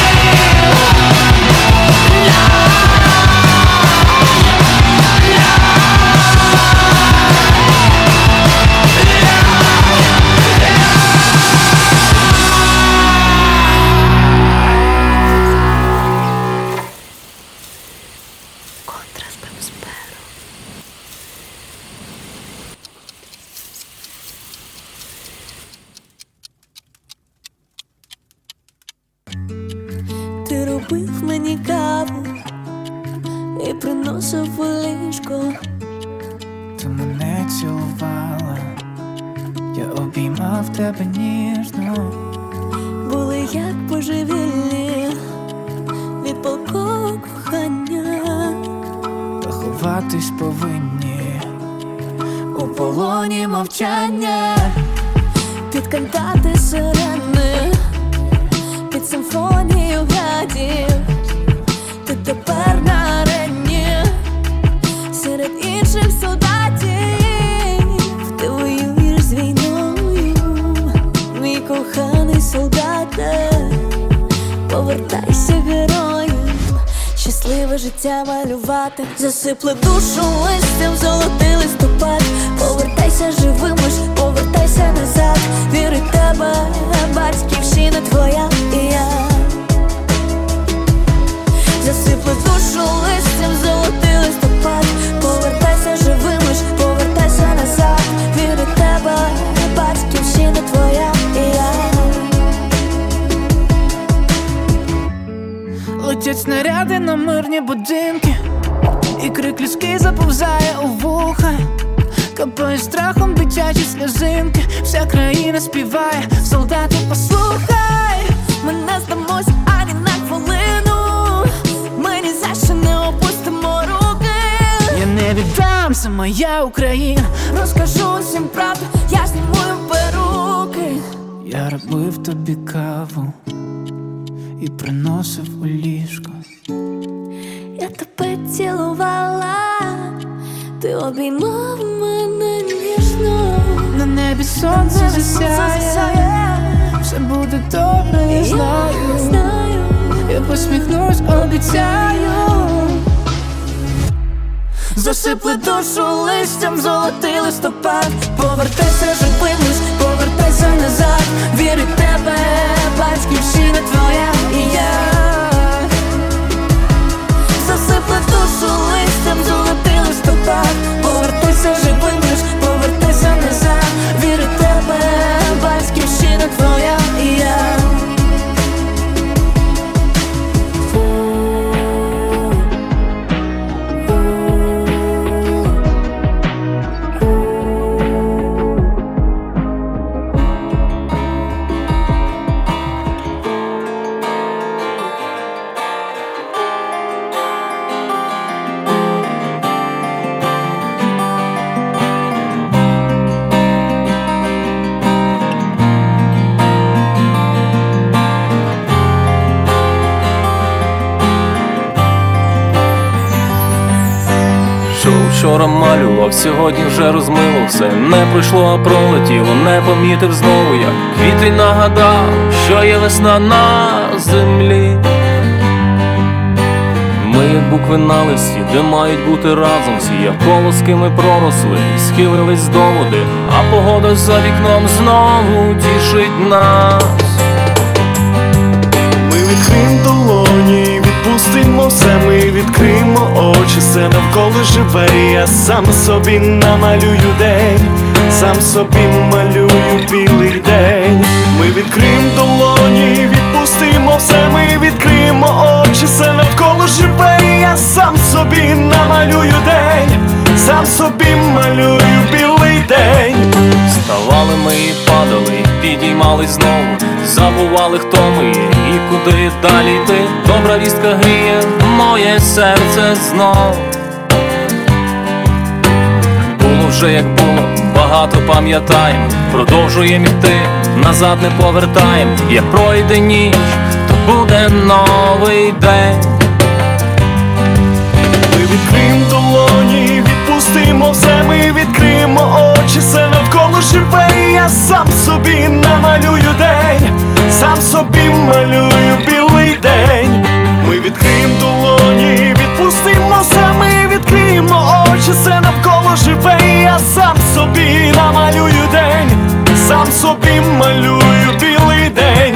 Ти робив мені каву і приносив у ліжко. Ти мене цілувала, я обіймав тебе ніжно. Були як божевільні від палкого кохання. Та ховатись повинні у полоні мовчання. Під кантати сирени, під симфонію градів. Ти тепер на арені серед інших солдатів. Ти воюєш з війною, мій коханий солдате. Повертайся героєм, щасливе життя малювати. Засипли душу листям, золотий листопад. Повертайся живим, лиш повертайся назад. Віри в тебе, батьківщина твоя і я. Засипли душу листям, золотий листопад. Повертайся живим, лиш повертайся назад. Віри в тебе, батьківщина твоя і я. Летять снаряди на мирні будинки, і крик людський заповзає у вуха. Капає страхом дитячі сльозинки. Вся країна співає, солдати, послухай. Ми не здамось ані на хвилину. Ми ні за що не опустимо руки. Я не віддам, це моя Україна. Розкажу усім правду, я зніму перуки. Я робив тобі каву і приносив у ліжко. Я тебе цілувала, ти обіймав мене ніжно. На небі сонце засяє, все буде добре, я знаю. Я посміхнусь, обіцяю. Засипле душу листям, золотий листопад. Повертайся, живий лиш, повертайся назад. Вірю в тебе, батьківщина твоя і я. Засипле душу листям, золотий листопад. Повертайся, живий лиш, повертайся назад. Вірю в тебе, батьківщина твоя і я. Вчора малював, сьогодні вже розмило все. Не пройшло, а пролетіло, не помітив знову, як квітень нагадав, що є весна на землі. Ми, як букви на листі, де мають бути разом всі, як колоски ми проросли, схилились до води, а погода за вікном знову тішить нас. Ми відкриємо долоні, відпустимо все, ми відкриємо очі, все навколо живе, я сам собі намалюю день, сам собі малюю білий день. Ми відкриємо долоні, відпустимо все, ми відкриємо очі, все навколо живе, я сам собі намалюю день, сам собі малюю білий день. Вставали ми і падали, підіймались знову, забували, хто ми є і куди далі йти. Добра вістка гріє моє серце знов. Було вже як було, багато пам'ятаємо, продовжуємо йти, назад не повертаємо. Як пройде ніч, то буде новий день. Ми відкриємо долоні, відпустимо все, ми відкриємо очі, все навколо живе, я сам собі намалюю день, сам собі малюю білий день. Ми відкриємо долоні, відпустимо все, ми відкриємо очі, все навколо живе, я сам собі намалюю день, сам собі малюю білий день.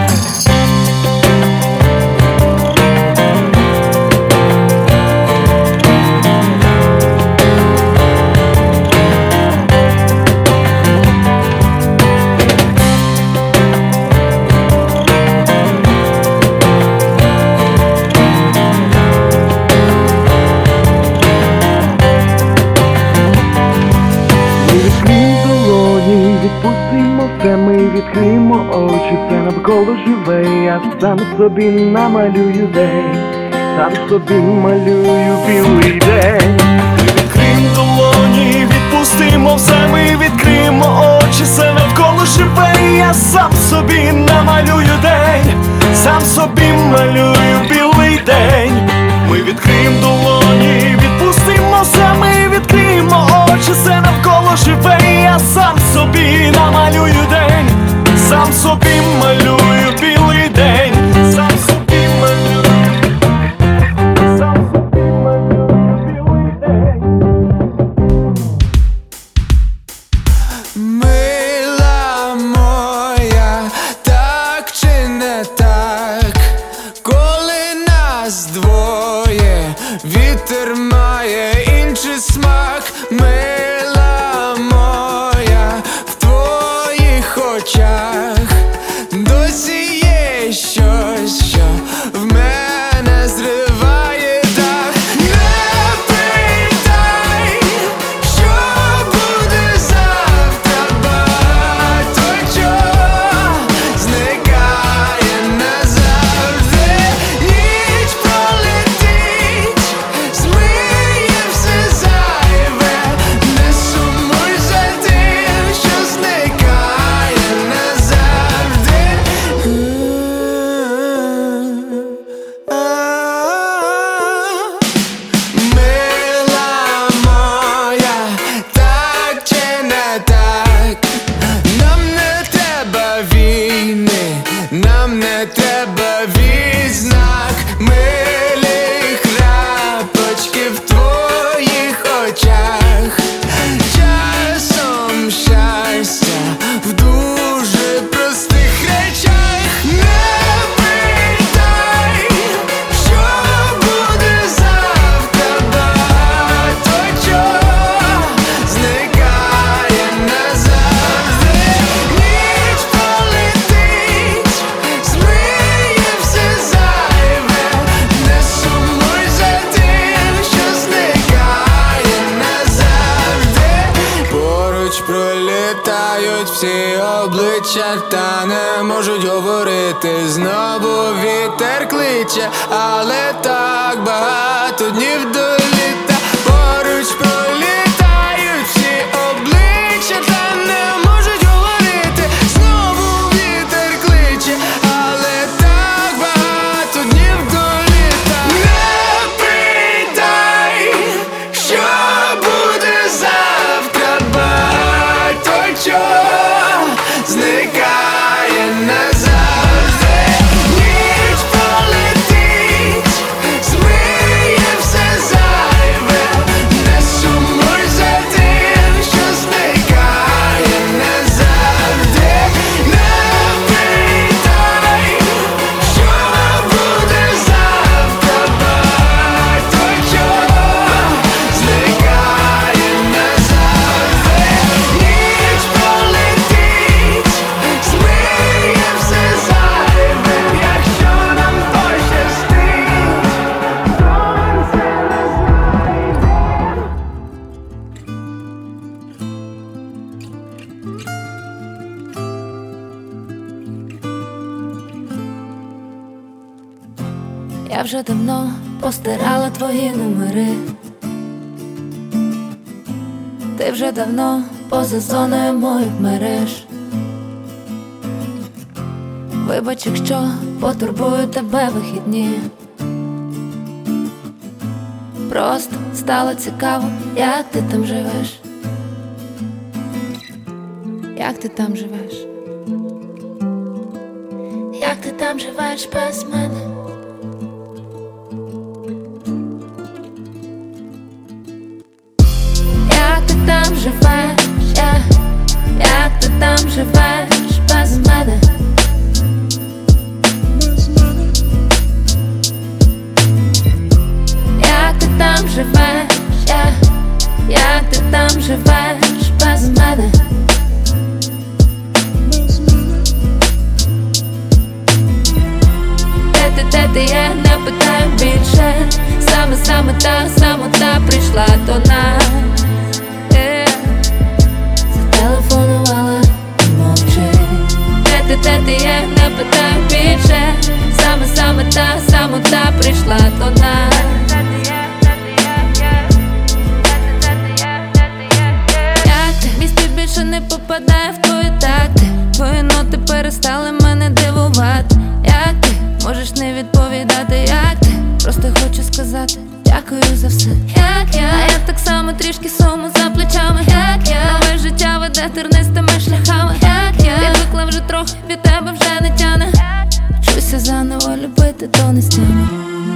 Ми відкриємо очі, все навколо живе, я сам собі намалюю день, сам собі малюю білий день. Ми відкриємо долоні, відпустимо все, ми відкриємо очі, все навколо живе, я сам собі намалюю день, сам собі малюю білий день. Ми відкриємо долоні, відпустимо все, ми відкриємо очі, все навколо живе, я сам собі намалюю день, сам собі малюю білий день, сам собі малюю, сам собі малюю білий день. Мила моя, так чи не так, коли нас двоє, вітер має інший смак. Мила моя, в твоїх очах досі є щось, що в мене зриває дах. Не питай, що буде завтра, багато чого зникає назавжди. Ніч пролетить, змиє все зайве, не сумуй за тим, що зникає назавжди. обличчя, та не можуть говорити. Знову вітер кличе, але так багато днів до літа. Поруч пролітають всі обличчя, та не можуть говорити. Знову вітер кличе, але так багато днів до літа. Не питай, що буде завтра, багато чого зникає назавжди. Ніч пролетить, змиє все зайве. Не сумуй за тим, що зникає назавжди. Не питай, що буде завтра, багато чого зникає назавжди. Ніч пролетить, змиє все зайве, якщо нам пощастить, сонце не Я вже давно постирала твої номери. Ти вже давно поза зоною моїх мереж. Вибач, якщо потурбую тебе вихідні. Просто стало цікаво, як ти там живеш. Як ти там живеш? Як ти там живеш без мене? Як ти там живеш? Yeah. Як ти там живеш без мене? Як ти там живеш? Yeah. Як ти там живеш без мене? Де ти, де ти є, не питаю більше. Саме, саме та, самота прийшла до нас. Yeah. Зателефонувала і мовчить. Де ти, де ти є, не питаю більше. Саме, саме та, самота прийшла до нас. Як ти? Мій стиль більше не попадає в твої такти. Твої ноти перестали мене дивувати. Як ти? Можеш не відповідати, як ти? Просто хочу сказати дякую за все. Як я, а я так само трішки суму за плечами. Як я, нове життя веде тернистими шляхами. Як я, відвикла вже трохи, від тебе вже не тяне. Вчуся заново любити, то не стяне.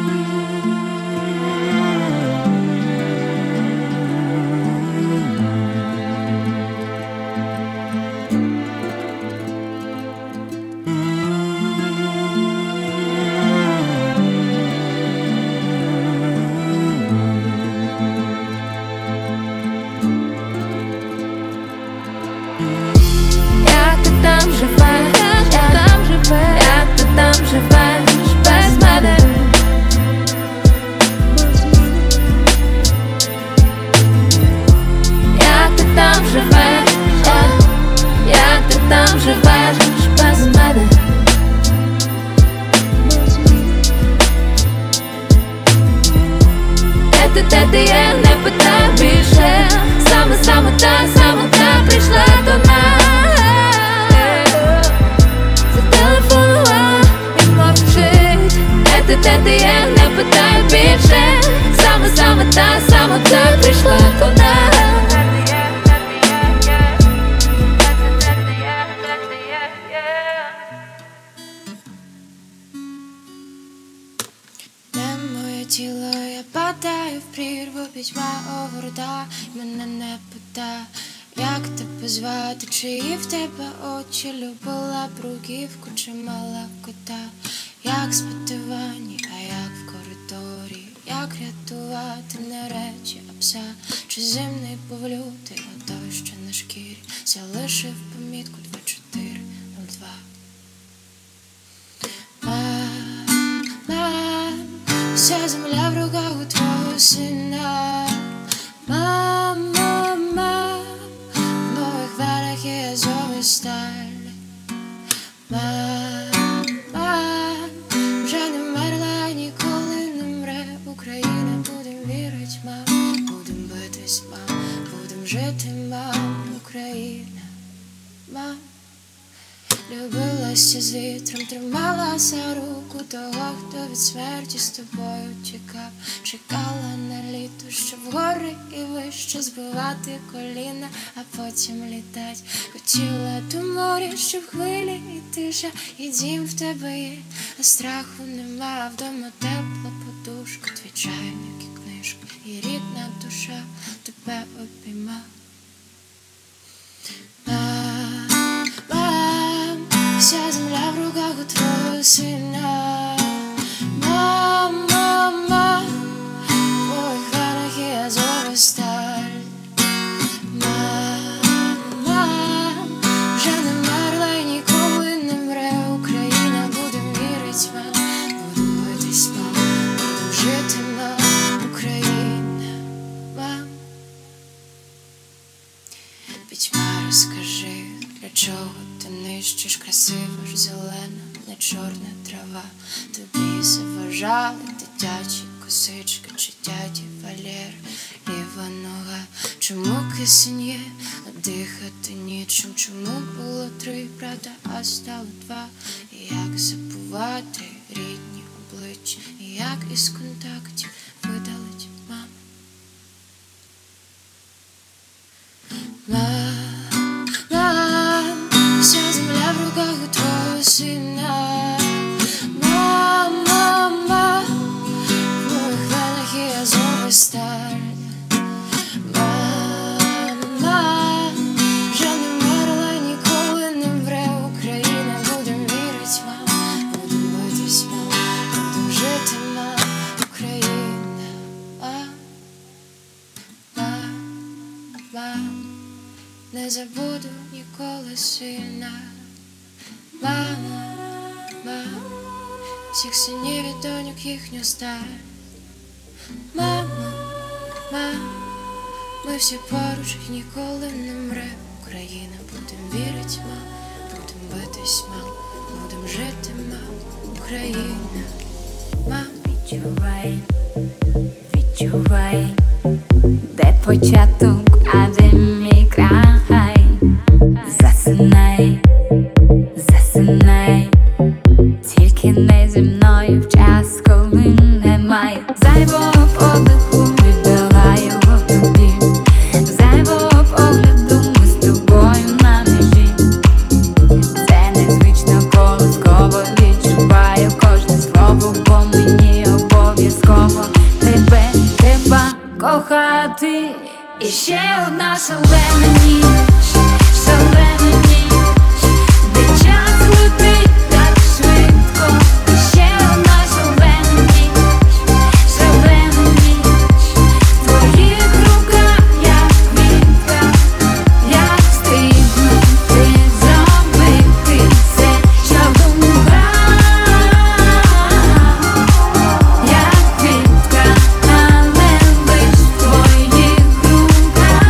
Як ти там живеш? Як ти там живеш без мене? Як ти там живеш? Як ти там живеш без мене? Де ти, де ти є, не питаю більше. Саме, саме та, саме та прийшла до нас. Зателефонувала і мовчить. Де ти, де ти є, не питаю більше. Саме, саме та, саме та прийшла до нас. Де моє тіло, я падаю в прірву, пітьма огорда, мене не пита, як тебе звати, чиї в тебе очі, любила бруківку чи мала кота, як спитивані, а як в коридорі, як рятувати не речі, а пса, чи зимний повлютий, а той, що на шкірі, залишив помітку два чотири нуль два. Мама, вся земля в руках у твого сина. Мама, мама, в моїх венах є азовий сталь. Мама, вже не мерла, ніколи не мре Україна, будем вірить, мам, будем битись, мам, будем жити, мам, Україна, мам. Любилася з вітром, тримала за руку того, хто від смерті з тобою тікав. Чекала на літо, щоб гори і вище збивати коліна, а потім літать. Хотіла до моря, щоб хвилі і тиша, і дім в тебе є, а страху нема. Вдома тепла подушка, твій чайник і книжка, і рідна душа тебе обійма. Вся земля в руках у твого сина. Мама, мама, в твоїх ранах є азова сталь. Мама, вже не мерла і ніколи не мре Україна, будем вірить, мам, будем битись, мам, будем жити, мам, Україна, мам. Пітьма, розкажи, для чого ти нищиш красиво ж зелена, не чорна трава. Тобі заважали дитячі косички чи дяді Валєр, ліва нога. Чому кисень є, а дихати нічим? Чому було три брата, а стало два? І як забувати рідні обличчя, і як із контактів видалить мама? Мам, вся земля в руках у твого сина. Мам, мама, в твоїх венах є азова сталь. Мама, вже не мерла, ніколи не мре Україна, будем вірить, мам, будем битись, мам, будем жити, мам, Україна, мам, мам, мам. Не забуду ніколи сина. Мама, мама, всіх синів і доньок їхню сталь. Мама, мама, ми всі поруч і ніколи не мре Україна, будем вірить, мам, будем битись, мам, будем жити, мам, Україна, мам. Відчувай, відчувай, де початок, а де мій край. Засинай, засинай, тільки не зі мною в час, коли немає зайвого подиху, віддала його тобі. Зайвого погляду, ми з тобою на межі. Це незвично, колосково відчуваю кожне слово, бо мені обов'язково тебе, треба кохати. І ще одна шалена ніч, шалена ніч, де час летить так швидко. І ще одна шалена ніч, шалена ніч, в твоїх руках як квітка, як встигнути зробити все, що в думках, як квітка, але лиш в твоїх руках.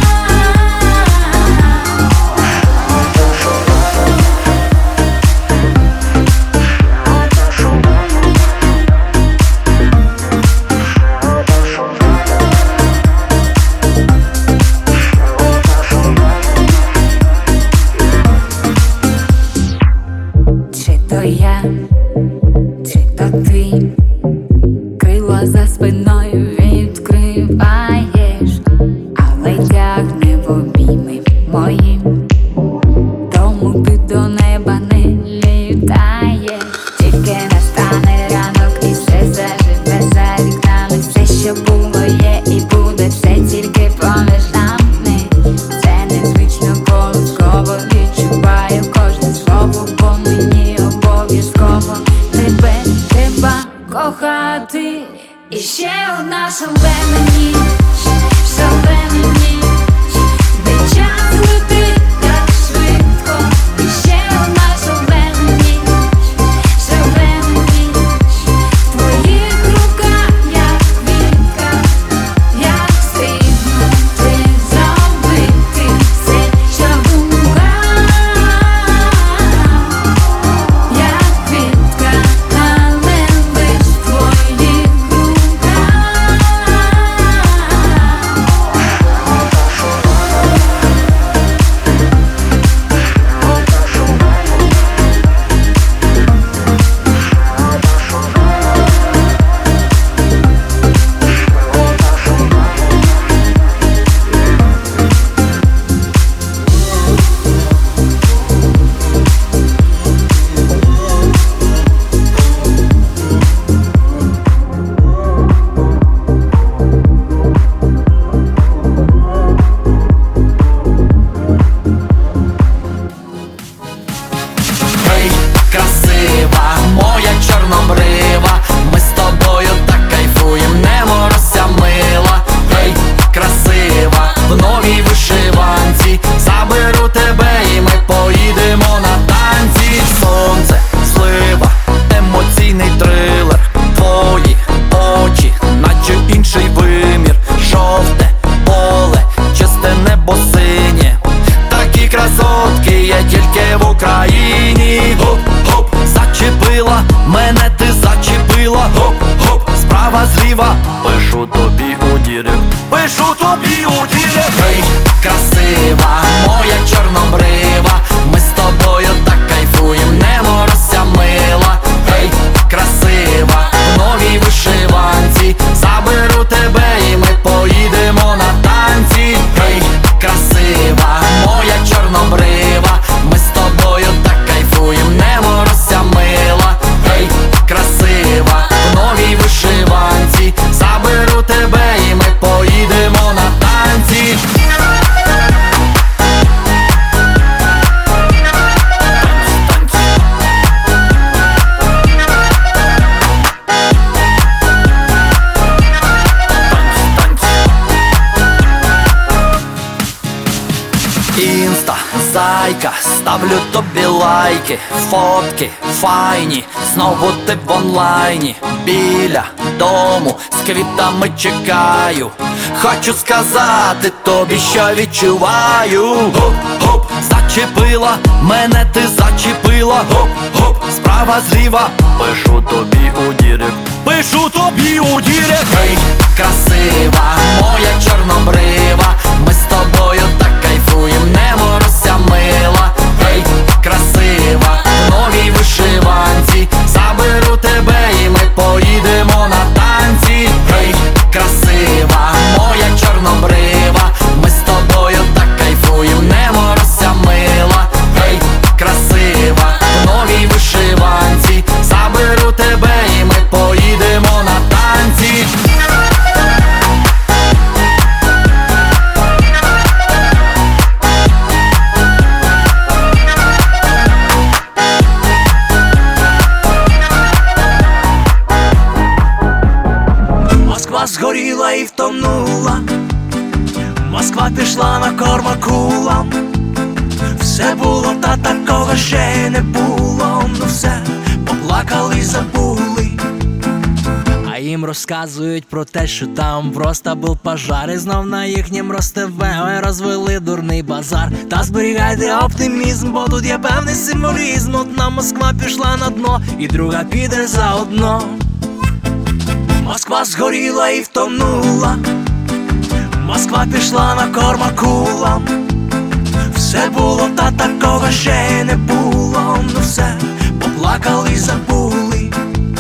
Чи то я, чи то ти, крила за спиною відкриваєш, але тягне в обійми мої, тому ти до неба не літаєш. Тільки настане ранок і все заживе за вікнами. Все, що було, є і буде, все тільки поміж нами. Це незвично, колосково відчуваю кожне слово, бо мені обов'язково тебе треба кохати. І ще одна шалена ніч, шалена ніч, де час летить так швидко. І ще одна шалена ніч, шалена ніч, в твоїх руках як квітка, як встигнути зробити все, що в думках, ставлю тобі лайки, фотки файні, знову ти в онлайні, біля дому з квітами чекаю. Хочу сказати тобі, що відчуваю. Гоп-гоп, зачепила, мене ти зачепила. Гоп-гоп, справа зліва, пишу тобі у дірект, пишу тобі у дірект. Гей, красива, моя чорнобрива, ми з тобою так кайфуєм, не морозься мила. Гей, красива, в новій вишиванці, заберу тебе і ми поїдемо на танці. Гей, красива, моя чорнобрива, ми з тобою так кайфуєм, не морозься мила. Гей, красива, в новій вишиванці, заберу тебе і ми поїдемо на танці. Москва згоріла і втонула, Москва пішла на корм акулам. Все було, та такого ще не було. Ну все, поплакали й забули. А їм розказують про те, що там просто був пожар, і знов на їхнім Роств розвели дурний базар. Та зберігайте оптимізм, бо тут є певний символізм. Одна Москва пішла на дно, і друга піде заодно. Москва згоріла і втонула, Москва пішла на корм акулам. Все було, та такого ще не було. Ну все, поплакали й забули.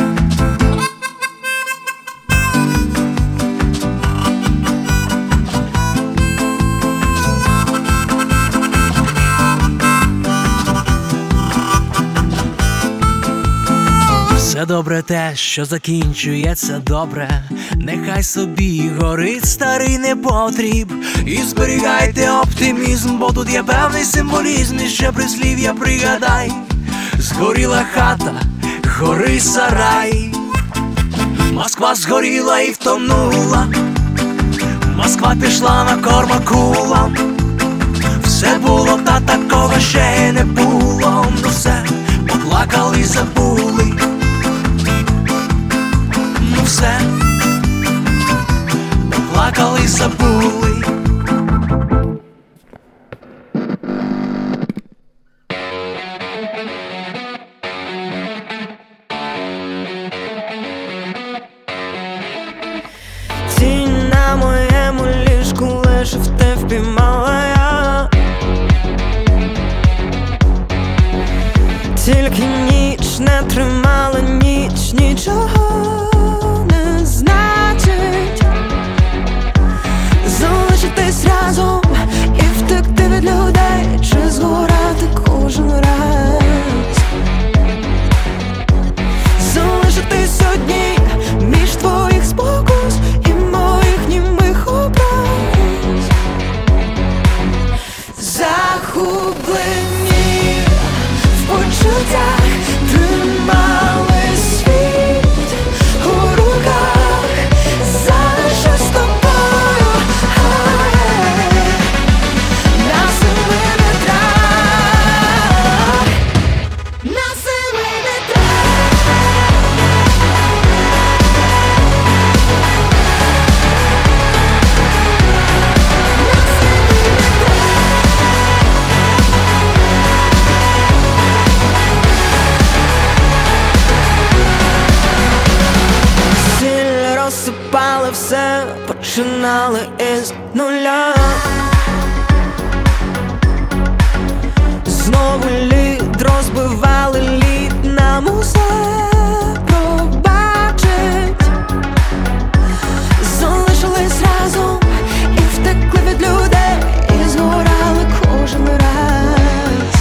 Все добре те, що закінчується добре, нехай собі горить старий непотріб. І зберігайте оптимізм, бо тут є певний символізм. І ще прислів'я пригадай: згоріла хата, гори сарай. Москва згоріла і втонула, Москва пішла на корм акулам. Все було, та такого ще не було. Ну все, поплакали й забули. Ну все, поплакали й забули. Тінь на моєму ліжку лежав, те впіймала я. Тільки ніч не тримала, ніч нічого не значить. Залишитись разом і втекти від людей, чи згорати кожен раз. Залишитись одній між твоїх спокус і моїх німих образ. Захоплені в почуттях, тримали світ у руках. Залишусь з тобою, на семи вітрах, на семи Сіль розсипали все, починали із нуля. Знову лід розбивали, лід нам усе пробачить. Залишились разом і втекли від людей, і згорали кожен раз.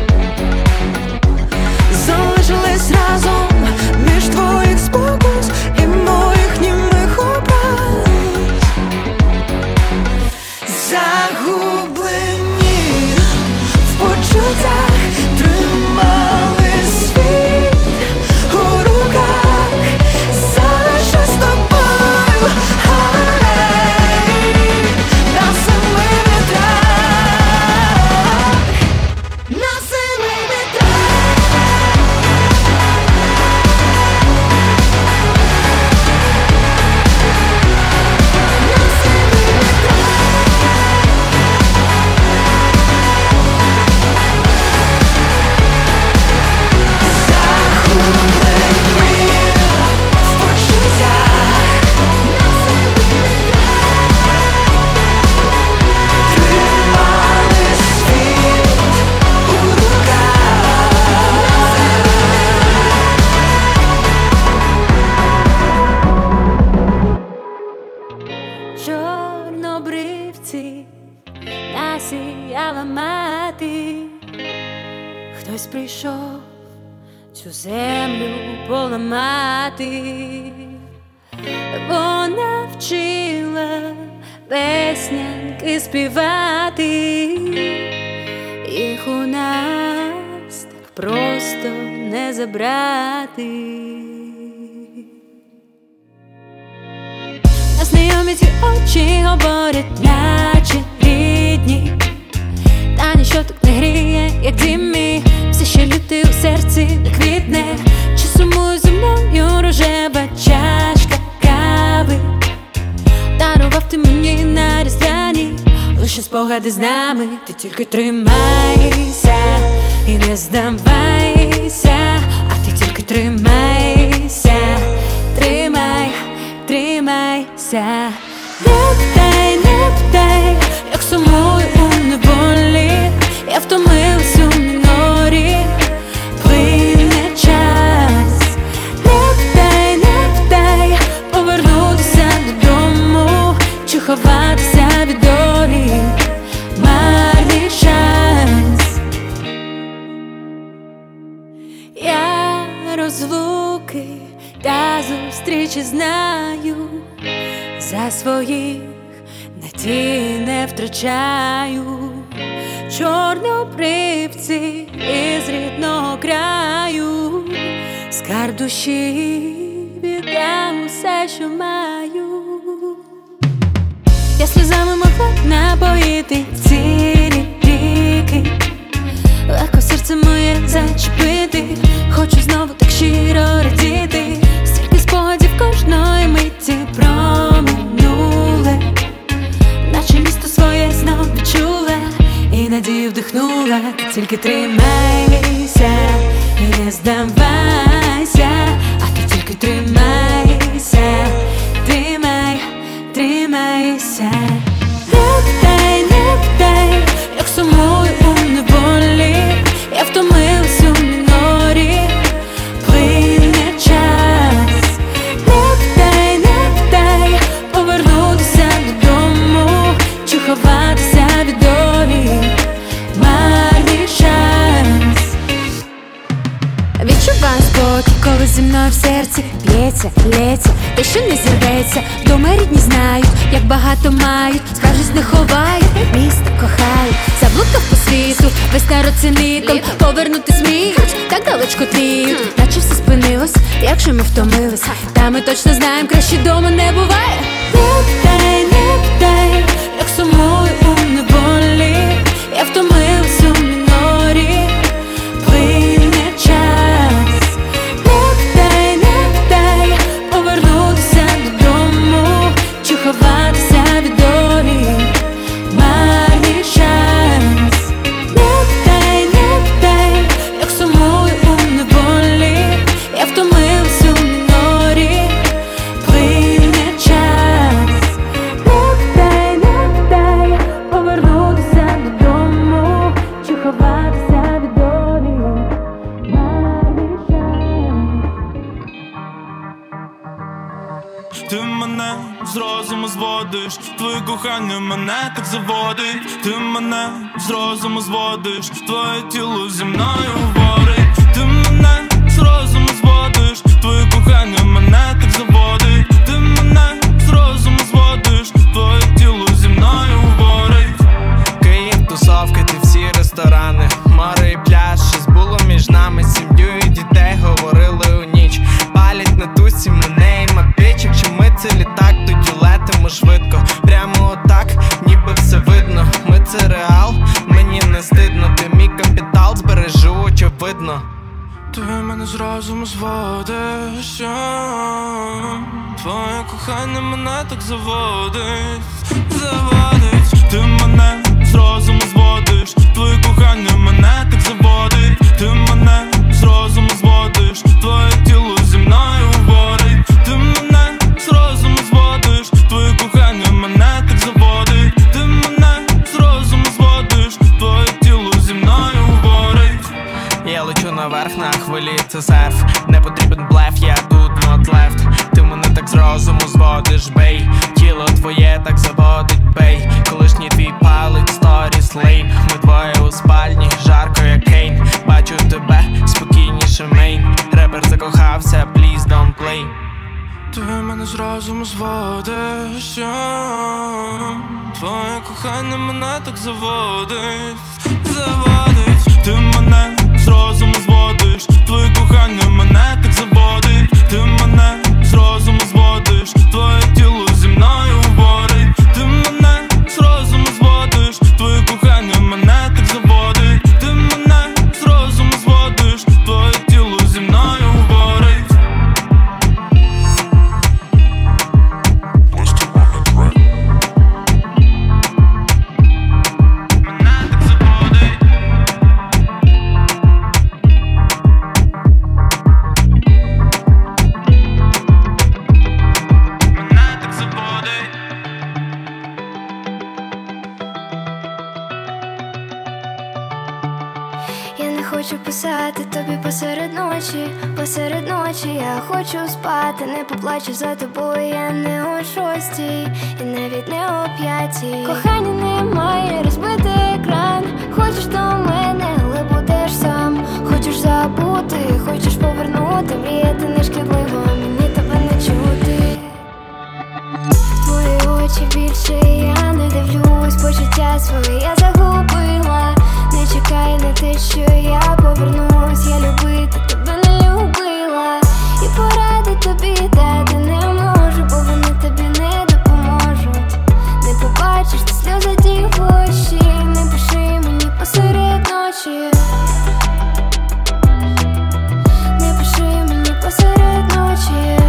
Залишились разом між твоїх спокус і моїх німих образ. Загублені в почуттях, тримали світ прийшов цю землю поламати. Вона вчила песнянки співати, їх у нас так просто не забрати. Знайомі ці очі говорять, наче рідні, та ніщо так не гріє, як дім мій. Все ще лютий у серці не квітне. Чи сумує зі мною рожева чашка кави? Дарував ти мені на різдвяні лише спогади з нами. Ти тільки тримайся і не здавайся, а ти тільки тримайся, тримай, тримайся. Не питай, не питай, як сумую у неволі. Я втомилась у мінорі, плине час. Не питай, не питай, повернутися додому чи ховатися від долі, марний шанс. Я розлуки та зустрічі знаю, за своїх надій не втрачаю. Чорнобривці із рідного краю, скарб душі віддам усе, що маю. Я сльозами могла напоїти цілі ріки, легко серце моє зачепити. Хочу знову так щиро радіти. Стільки спогадів кожної миті про минуле, наче місто своє знов відчула і надію вдихнула. Ти тільки тримайся і не здавайся, а ти тільки тримайся, тримай, тримайся. Не питай, не питай, як сумую у неволі. Я втомилась у мінорі, плине час. Не питай, не питай, повернутися додому чи ховатися від долі, марний шанс. Відчуваю спокій, коли зі мною в серці б'ється, лється, те, що не зірветься. Вдома рідні знають, як багато мають, скаржусь не ховають, місто кохають. Заблукав по світу, весь народ циніком, повернути зміють, так далечко тліють, наче все спинилось, якщо ми втомились. Та ми точно знаємо, краще дома не буває. Не питай, не питай, як сумую у неволі. Я втомилась у мінорі, плине час. Не питай, не питай, повернутися додому чи ховатися від долі, марний шанс. Не питай, не питай, як сумую у неволі. Я втомилась у мінорі, плине час. Не питай, не питай, повернутися додому чи ховатися від долі, марний шанс. Ти мене з розуму зводиш, твоє кохання мене так заводить. Ти мене з розуму зводиш, твоє тіло зі мною говорить. Ти мене з розуму зводиш, твоє кохання мене так заводить. Ти мене з розуму зводиш, твоє тіло зі мною говорить. Київ, тусовки, ти всі ресторани, море і пляж, щось було між нами. Сім'ю і дітей говорили у ніч, палять на тусі мене і мапічок. Чи ми це літак, тоді летимо швидко, прямо отак, ніби все видно. Ми це реал, мені не стидно, ти мій капітал збережу, очевидно. Ти мене з розуму зводиш, твоє кохання мене так заводить, заводить. Ти мене з розуму зводиш, твоє кохання мене так заводить. Ти мене з розуму зводиш, твоє тіло зі мною говорить. Ти мене з розуму зводиш, твоє кохання мене так заводить. Ти мене з розуму зводиш, твоє тіло зі мною говорить. Я лечу наверх на хвилі, це серф, не потрібен блеф, я тут not left. Ти мене так з розуму зводиш, бей, тіло твоє так заводить, бей. Колишній твій палить сторіс, fast lane. Ми двоє у спальні, жарко як Кейн. Бачу тебе, спокійніше мейн. Репер закохався, please don't play. Ти мене з розуму зводиш, твоє кохання мене так заводить, заводить. Ти мене з розуму зводиш, твоє кохання мене так заводить. Ти мене з розуму зводиш, твоє тіло зі мною говорить. Ти мене з розуму зводиш, твоє кохання мене так заводить. Ти мене з розуму зводиш, твоє тіло зі мною говорить. Я не хочу писати тобі посеред ночі, посеред ночі я хочу спати, не поплачу за тобою, я не о шостій, і навіть не о п'ятій. Кохання немає, розбитий екран. Хочеш до мене, але будеш сам. Хочеш забути, хочеш повернути, мріяти не шкідливо, мені тебе не чути. В твої очі більше я не дивлюсь, почуття свої я загубила. Не чекай на те, що я повернусь, я любити тебе не любила. І поради тобі дати не можу, бо вони тобі не допоможуть. Не побачиш ти сльози дівочі, не пиши мені посеред ночі. Не пиши мені посеред ночі.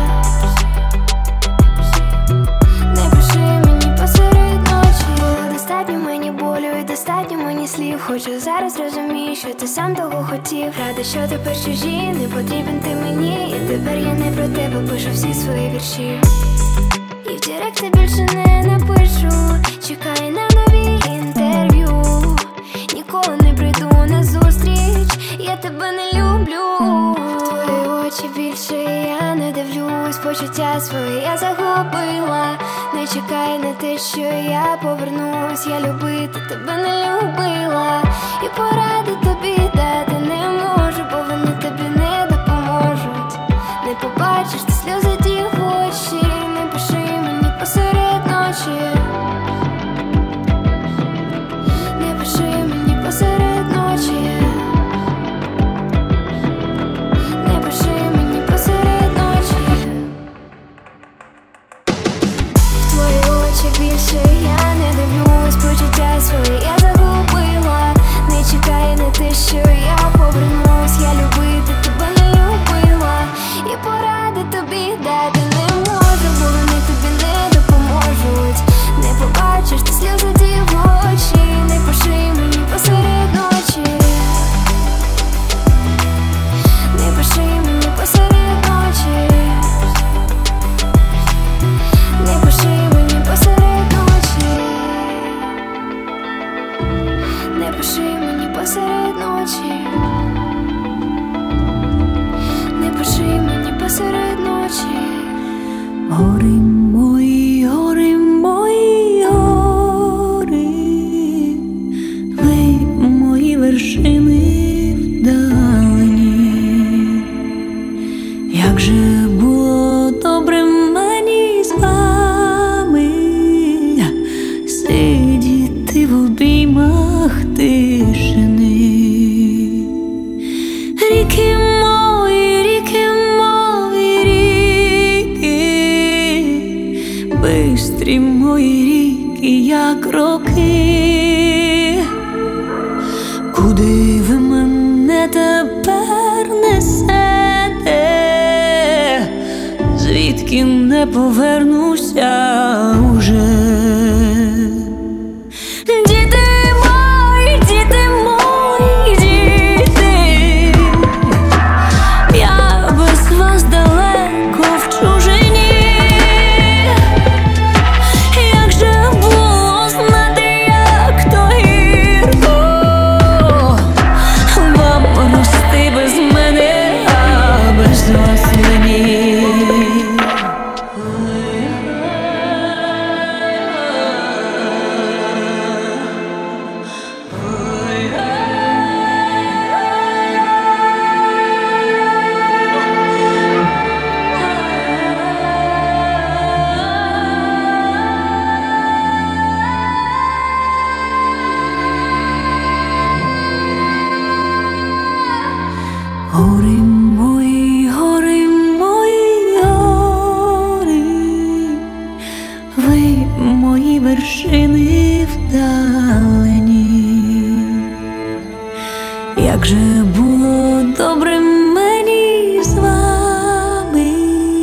Не пиши мені посеред ночі. Достатньо мені болю і достатньо мені слів. Хочу зараз розумієш, що ти сам того хотів. Рада, що тепер чужі, не потрібен ти мені. І тепер я не про тебе пишу всі свої вірші. І в директ я більше не напишу. Чекай на нові інтерв'ю. Ніколи не прийду на зустріч, я тебе не люблю. В твої очі більше я не дивлюсь, почуття свої я загубила. Не чекай на те, що я повернусь, я любити тебе не любила. І поради тобі дати не можу, бо вони тобі не допоможуть. Не побачиш ти сльози дівочі, не пиши мені посеред ночі. Не пиши мені посеред ночі. Не пиши мені посеред ночі. В твої очі більше я не дивлюсь, почуття свої я загубила. Не чекай на те, що я повернусь, я любити тебе не любила. І поради тобі дати не можу, бо вони тобі не допоможуть. Не побачиш ти сльози дівочі, не пиши мені посеред ночі. Не пиши мені посеред ночі. Не пиши мені посеред ночі. Не пиши мені посеред ночі. Не пиши мені посеред ночі. Гори мої, гори мої, гори, ви мої вершини вдалені. Як же було добре мені з вами сидіти в обіймах тишини. Ріки мої, ріки мої, ріки, бистрі мої ріки, як роки. Куди ви мене тепер несете? Звідки не повернуся уже? Діти мої, діти мої, діти, я без вас далеко в чужині. Як же було знати, як то гірко вам рости без мене, а без вас мені. Гори мої, гори мої, гори, ви мої вершини вдалені. Як же було добре мені з вами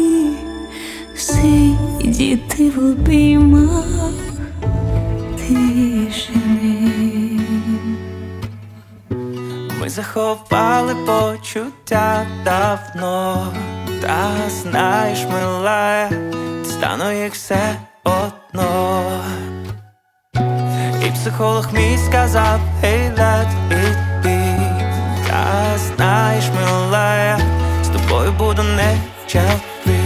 сидіти в обіймах тишини. Ми заховали почуття давно, та знаєш, милая, стану їх все одно. І психолог мій сказав, hey, let it be. Та знаєш, милая, з тобою буду не чапи.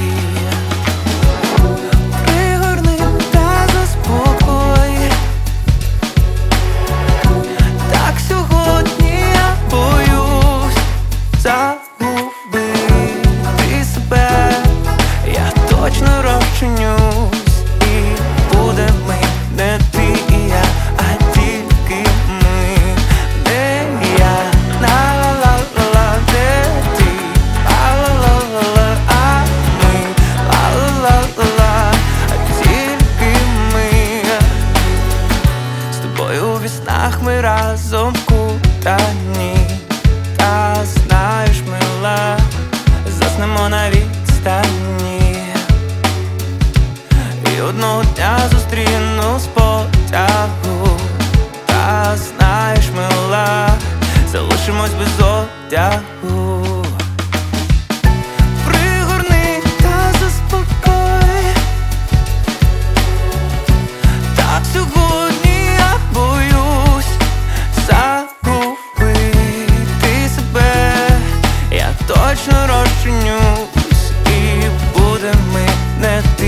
Пригорни та заспокой. Так сьогодні я боюсь загубити себе. Я точно розчинюсь, і буде ми не ти і я, а тільки ми. Де я, ла-ла-ла-ла, де ти, ла-ла-ла-ла, а ми, ла-ла-ла-ла, а тільки ми. З тобою у віснах ми разом кутані. Та знаєш, мила, заснемо на відстані. І одного дня зустріну з потягу. Та знаєш, мила, залишимось без одягу. Пригорни та заспокой. Так сьогодні я боюсь загубити себе. Я точно розчинюсь, і буде ми не